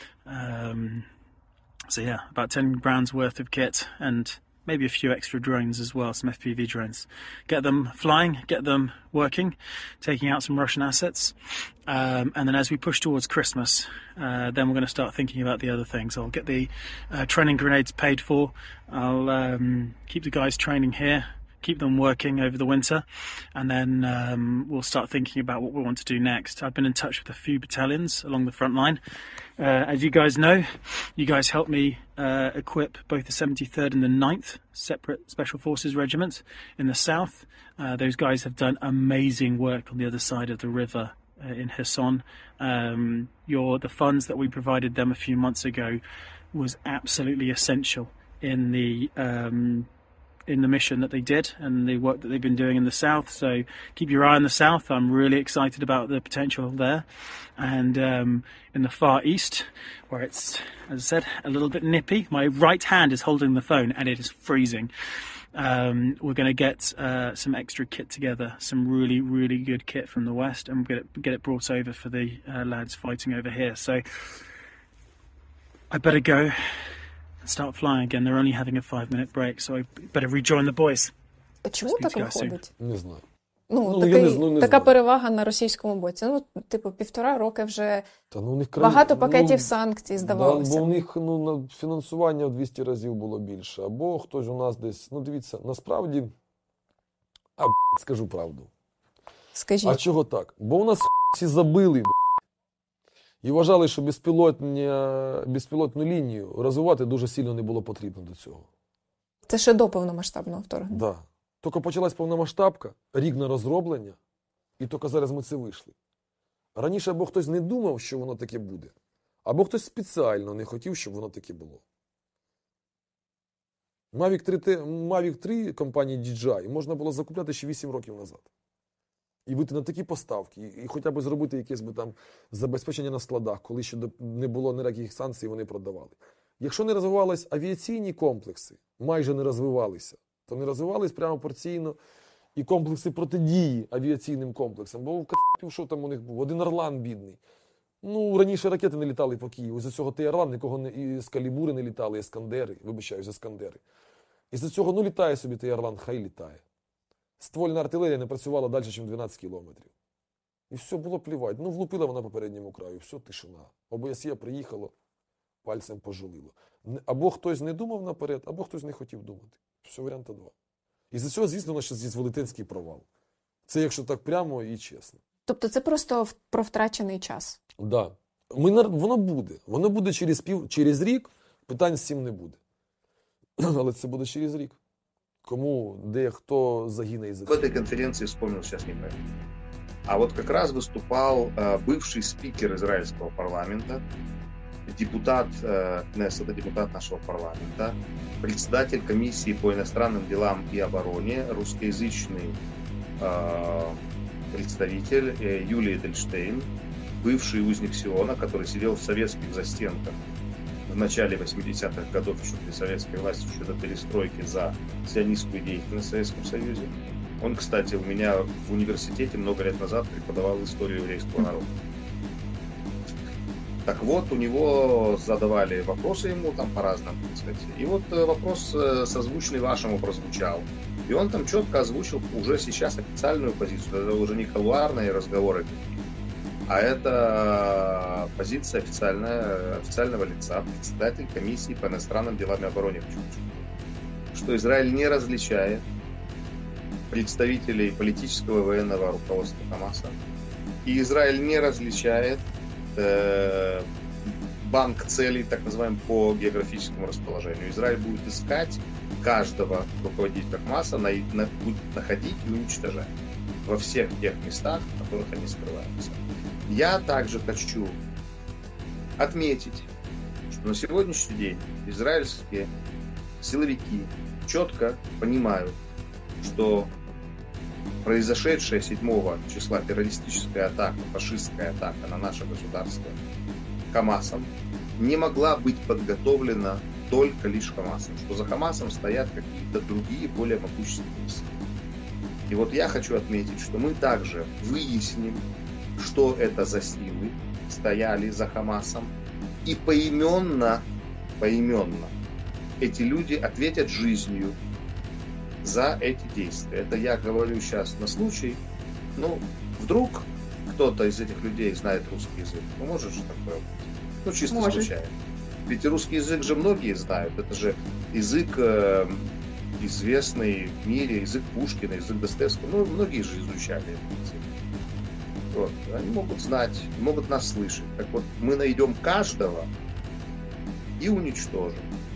So yeah, about 10 grand's worth of kit and maybe a few extra drones as well, some FPV drones. Get them flying, get them working, taking out some Russian assets. And then as we push towards Christmas, then we're going to start thinking about the other things. I'll get the training grenades paid for. I'll keep the guys training here, keep them working over the winter, and then we'll start thinking about what we want to do next. I've been in touch with a few battalions along the front line. As you guys know, you guys helped me equip both the 73rd and the 9th separate Special Forces regiments in the south. Those guys have done amazing work on the other side of the river in Kherson. The funds that we provided them a few months ago was absolutely essential in the mission that they did and the work that they've been doing in the south. So keep your eye on the south. I'm really excited about the potential there. And in the far east, where it's, as I said, a little bit nippy, my right hand is holding the phone and it is freezing. We're going to get some extra kit together, some really, really good kit from the west, and get it brought over for the lads fighting over here. So I better go and start flying again. They're only having a 5-minute break, so I better rejoin the boys. Чому так виходить? Не знаю. Така перевага на російському боці. Ну, типу, 1,5 роки вже у них багато пакетів санкцій, здавалося. Бо у них фінансування в 200 разів було більше. Або хтось у нас десь, дивіться, насправді, скажу правду. Скажіть. А чого так? Бо у нас всі забили, і вважали, що безпілотну лінію розвивати дуже сильно не було потрібно до цього. Це ще до повномасштабного вторгнення? Так. Да. Тільки почалась повномасштабка, рік на розроблення, і тільки зараз ми це вийшли. Раніше або хтось не думав, що воно таке буде, або хтось спеціально не хотів, щоб воно таке було. Mavic 3 компанії DJI можна було закупляти ще 8 років назад. І вийти на такі поставки, і хоча б зробити якесь там забезпечення на складах, коли ще не було ніяких санкцій, вони продавали. Якщо не розвивались авіаційні комплекси, майже не розвивалися, то не розвивались прямо порційно і комплекси протидії авіаційним комплексам. Бо в Кацапів, що там у них був? Один Орлан бідний. Раніше ракети не літали по Києву. Із-за цього Орлан нікого і Скалібури не літали, Іскандери, Іскандери. Із-за цього, літає собі Орлан, хай літає. Ствольна артилерія не працювала далі, ніж 12 кілометрів. І все, було плівати. Влупила вона по передньому краю, все, тишина. ОБСЄ приїхало, пальцем пожулило. Або хтось не думав наперед, або хтось не хотів думати. Все, варіанта 2. І за цього, звісно, у нас зараз є велетенський провал. Це якщо так прямо і чесно. Тобто це просто про втрачений час? Так. Да. Воно буде. Воно буде через рік, питань з цим не буде. Але це буде через рік. Кому, де, кто загине из-за этого. В этой конференции вспомнил сейчас не помню. А вот как раз выступал бывший спикер израильского парламента, депутат Кнессета, депутат нашего парламента, председатель комиссии по иностранным делам и обороне, русскоязычный представитель Юлия Эдельштейн, бывший узник Сиона, который сидел в советских застенках в начале 80-х годов, еще при советской власти, еще до перестройки, за сионистскую деятельность в Советском Союзе. Он, кстати, у меня в университете много лет назад преподавал историю еврейского народа. Так вот, у него задавали вопросы ему там по-разному, так сказать. И вот вопрос созвучный вашему прозвучал. И он там четко озвучил уже сейчас официальную позицию. Это уже не кулуарные разговоры, а это позиция официального лица, председатель комиссии по иностранным делам и обороне. Что Израиль не различает представителей политического и военного руководства Хамаса. И Израиль не различает банк целей, так называемый, по географическому расположению. Израиль будет искать каждого руководителя Хамаса, будет находить и уничтожать во всех тех местах, в которых они скрываются. Я также хочу отметить, что на сегодняшний день израильские силовики четко понимают, что произошедшая 7 числа террористическая атака, фашистская атака на наше государство Хамасом не могла быть подготовлена только лишь Хамасом, что за Хамасом стоят какие-то другие, более могущественные силы. И вот я хочу отметить, что мы также выясним, что это за силы стояли за Хамасом, и поименно эти люди ответят жизнью за эти действия. Это я говорю сейчас на случай, вдруг кто-то из этих людей знает русский язык. Может же такое быть? Чисто случайно. Ведь русский язык же многие знают. Это же язык известный в мире язык Пушкина, язык Достоевского. Ну, многие же изучали язык. Вот. Они могут знать, могут нас слышать. Так вот, мы найдем каждого и уничтожим.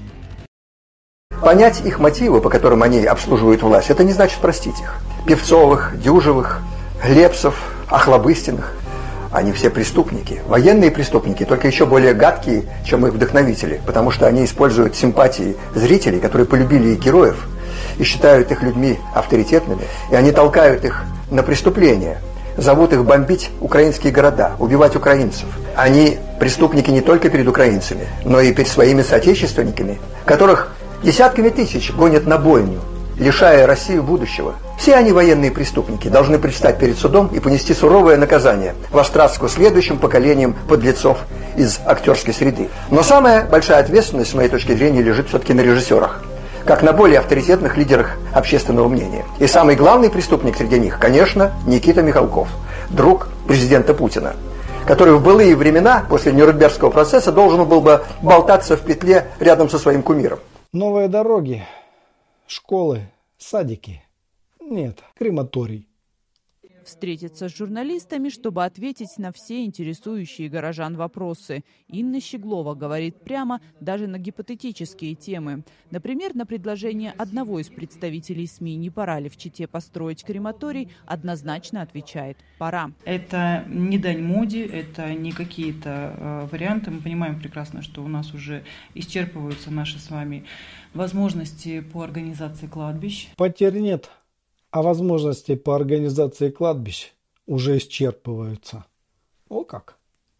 Понять их мотивы, по которым они обслуживают власть, это не значит простить их. Певцовых, Дюжевых, Глебцев, Охлобыстиных. Они все преступники, военные преступники, только еще более гадкие, чем их вдохновители, потому что они используют симпатии зрителей, которые полюбили их героев и считают их людьми авторитетными, и они толкают их на преступления, зовут их бомбить украинские города, убивать украинцев. Они преступники не только перед украинцами, но и перед своими соотечественниками, которых десятками тысяч гонят на бойню, лишая Россию будущего. Все они военные преступники, должны предстать перед судом и понести суровое наказание в острастку следующим поколениям подлецов из актерской среды. Но самая большая ответственность, с моей точки зрения, лежит все-таки на режиссерах, как на более авторитетных лидерах общественного мнения. И самый главный преступник среди них, конечно, Никита Михалков, друг президента Путина, который в былые времена, после Нюрнбергского процесса, должен был бы болтаться в петле рядом со своим кумиром. Новые дороги, школы, садики. Нет, крематорий. Встретиться с журналистами, чтобы ответить на все интересующие горожан вопросы. Инна Щеглова говорит прямо даже на гипотетические темы. Например, на предложение одного из представителей СМИ «Не пора ли в Чите построить крематорий?» однозначно отвечает «пора». Это не дань моде, это не какие-то варианты. Мы понимаем прекрасно, что у нас уже исчерпываются наши с вами возможности по организации кладбищ. Потерь нет. А возможности по организации кладбищ уже исчерпываются. О как!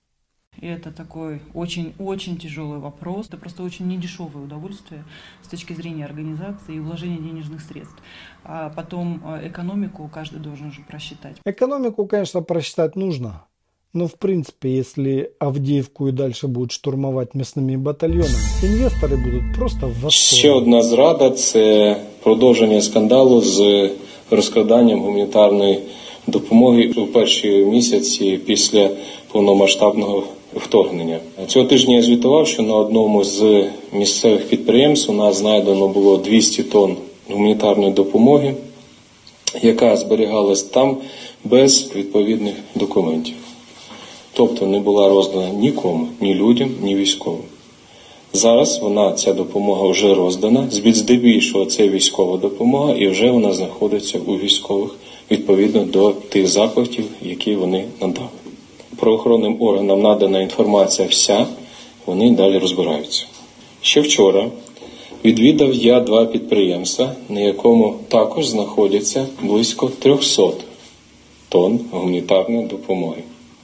И это такой очень-очень тяжелый вопрос. Это просто очень недешевое удовольствие с точки зрения организации и вложения денежных средств. А потом экономику каждый должен же просчитать. Экономику, конечно, просчитать нужно. Но, в принципе, если Авдіївку і далі будуть штурмувати м'ясними батальйонами, інвестори будуть просто в восторгі. Ще одна зрада – це продовження скандалу з розкраданням гуманітарної допомоги у перші місяці після повномасштабного вторгнення. Цього тижня я звітував, що на одному з місцевих підприємств у нас знайдено було 200 тонн гуманітарної допомоги, яка зберігалась там без відповідних документів. Тобто не була роздана нікому, ні людям, ні військовим. Зараз ця допомога вже роздана, здебільшого це військова допомога, і вже вона знаходиться у військових відповідно до тих запитів, які вони надали. Правоохоронним органам надана інформація вся, вони далі розбираються. Ще вчора відвідав я 2 підприємства, на якому також знаходяться близько 300 тонн гуманітарної допомоги,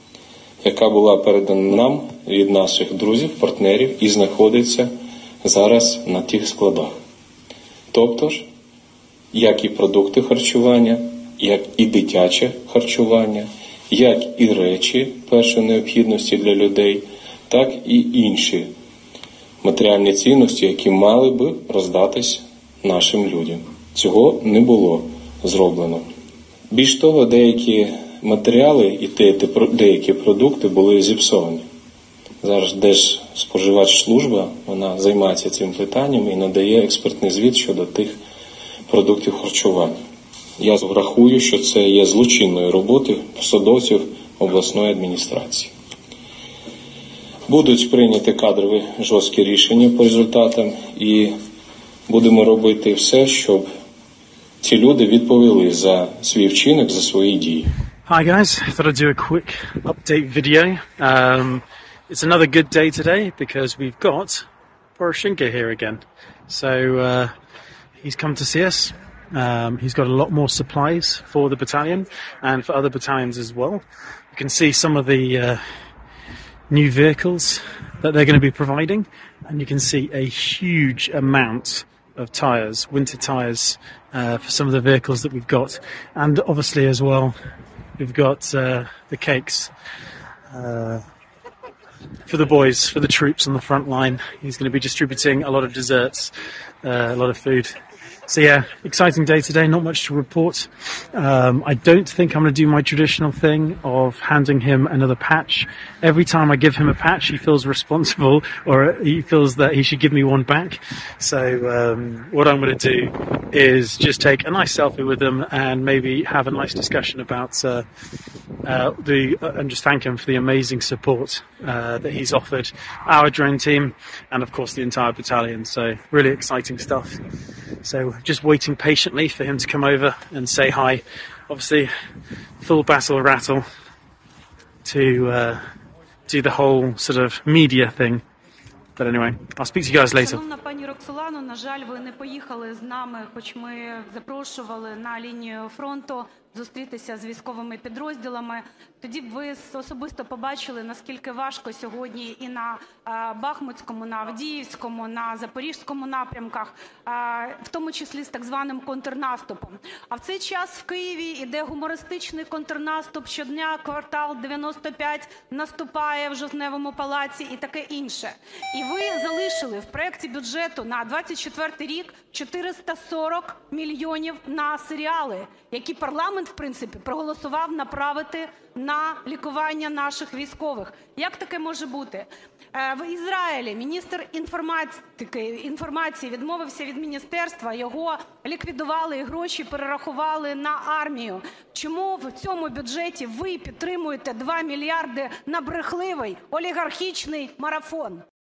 яка була передана нам від наших друзів, партнерів і знаходиться зараз на тих складах. Тобто ж, як і продукти харчування, як і дитяче харчування, як і речі першої необхідності для людей, так і інші матеріальні цінності, які мали би роздатись нашим людям. Цього не було зроблено. Більш того, деякі матеріали і деякі продукти були зіпсовані. Зараз Держспоживслужба, вона займається цим питанням і надає експертний звіт щодо тих продуктів харчування. Я рахую, що це є злочинною роботою посадовців обласної адміністрації. Будуть прийняті кадрові жорсткі рішення по результатам і будемо робити все, щоб ці люди відповіли за свій вчинок, за свої дії. Hi guys, I thought I'd do a quick update video. It's another good day today because we've got Poroshenko here again. So he's come to see us. He's got a lot more supplies for the battalion and for other battalions as well. You can see some of the new vehicles that they're going to be providing, and you can see a huge amount of tyres, winter tyres, for some of the vehicles that we've got. And obviously as well, we've got the cakes for the boys, for the troops on the front line. He's going to be distributing a lot of desserts, a lot of food. So yeah, exciting day today, not much to report. I don't think I'm going to do my traditional thing of handing him another patch. Every time I give him a patch, he feels responsible, or he feels that he should give me one back. So what I'm going to do is just take a nice selfie with him and maybe have a nice discussion about and just thank him for the amazing support that he's offered our drone team and of course the entire battalion. So really exciting stuff. So just waiting patiently for him to come over and say hi. Obviously full battle rattle to do the whole sort of media thing. But anyway, I'll speak to you guys later. Шановна пані Роксолано, на жаль, ви не поїхали з нами, хоч ми запрошували на лінію фронту зустрітися з військовими підрозділами. Тоді б ви особисто побачили, наскільки важко сьогодні і на Бахмутському, на Авдіївському, на Запорізькому напрямках, в тому числі з так званим контрнаступом. А в цей час в Києві іде гумористичний контрнаступ, щодня квартал 95 наступає в Жовтневому палаці і таке інше. І ви залишили в проєкті бюджету на 24 рік 440 мільйонів на серіали, які парламент, в принципі, проголосував направити на лікування наших військових. Як таке може бути? В Ізраїлі міністр інформації відмовився від міністерства, його ліквідували і гроші перерахували на армію. Чому в цьому бюджеті ви підтримуєте 2 мільярди на брехливий олігархічний марафон?